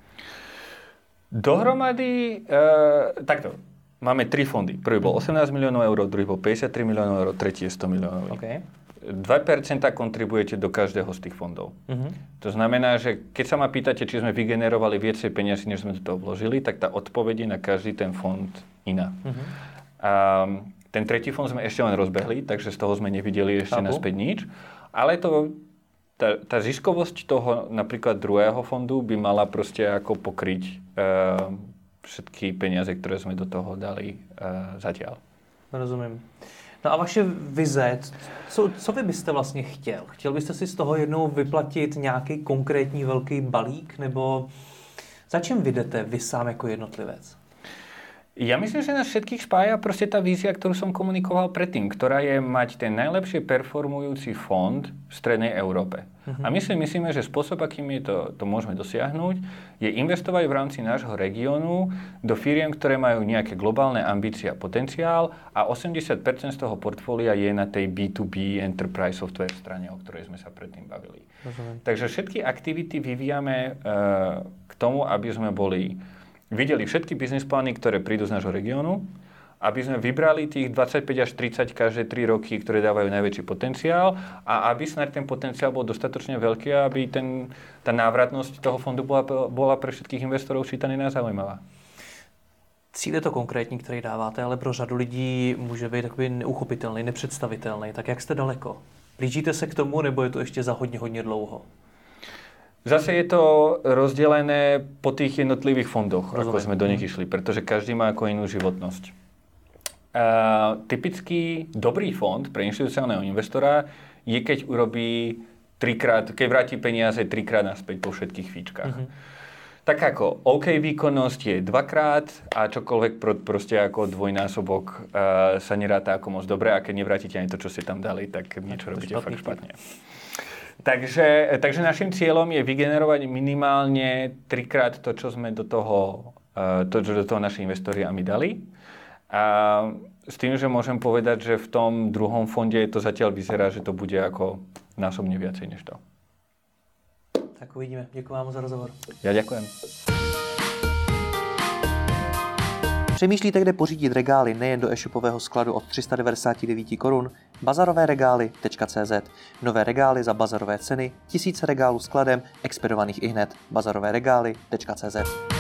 Dohromady, takto. Máme 3 fondy. Prvý bol 18 miliónov eur, druhý bol 53 miliónov eur, tretí je 100 miliónov eur. Okay. 2% kontribujete do každého z tých fondov. To znamená, že keď sa ma pýtate, či sme vygenerovali viacej peniazy, než sme do toho vložili, tak tá odpoveď je na každý ten fond iná. Ten tretí fond sme ešte len rozbehli, takže z toho sme nevideli ešte naspäť nič. Ale tá ziskovosť toho napríklad druhého fondu by mala proste ako pokryť všetky peniaze, ktoré sme do toho dali zatiaľ. Rozumím. No a vaše vize, co vy byste vlastně chtěl? Chtěl byste si z toho jednou vyplatit nějaký konkrétní velký balík, nebo za čem vy jdete vy sám jako jednotlivec? Ja myslím, že nás všetkých spája proste tá vízia, ktorú som komunikoval predtým, ktorá je mať ten najlepšie performujúci fond v strednej Európe. A my si myslíme, že spôsob, akým to môžeme dosiahnuť, je investovať v rámci nášho regiónu do firiem, ktoré majú nejaké globálne ambície a potenciál a 80% z toho portfólia je na tej B2B enterprise software strane, o ktorej sme sa predtým bavili. Takže všetky aktivity vyvíjame k tomu, aby sme videli všetky biznis plány, ktoré prídu z nášho regiónu, aby sme vybrali tých 25 až 30 každé 3 roky, ktoré dávajú najväčší potenciál a aby snad ten potenciál bol dostatočne veľký, aby tá návratnosť toho fondu bola pre všetkých investorov čítaná a zaujímavá. Cíl je to konkrétní, který dáváte, ale pro řadu lidí může být takový neuchopitelný, nepředstavitelný. Tak jak jste daleko? Blížíte se k tomu, nebo je to ještě za hodně dlouho? Zase je to rozdelené po tých jednotlivých fondoch, ako sme do nich išli, pretože každý má ako inú životnosť. Typický dobrý fond pre inštitucionálneho investora je, keď keď vráti peniaze 3-krát naspäť po všetkých fíčkach. Tak ako OK výkonnosť je 2-krát a čokoľvek proste ako dvojnásobok sa neráta ako moc dobre a keď nevrátite ani to, čo ste tam dali, tak niečo robíte fakt špatne. Takže našim cieľom je vygenerovať minimálne 3-krát to, čo sme do toho naši investori a my dali. A s tým, že môžem povedať, že v tom druhom fonde to zatiaľ vyzerá, že to bude ako násobne viacej než to. Tak uvidíme. Děkuji vám za rozhovor. Ja ďakujem. Přemýšlíte, kde pořídit regály nejen do e-shopového skladu od 399 korun? Bazarovéregály.cz. Nové regály za bazarové ceny, tisíce regálů skladem, expedovaných ihned. Bazarovéregály.cz.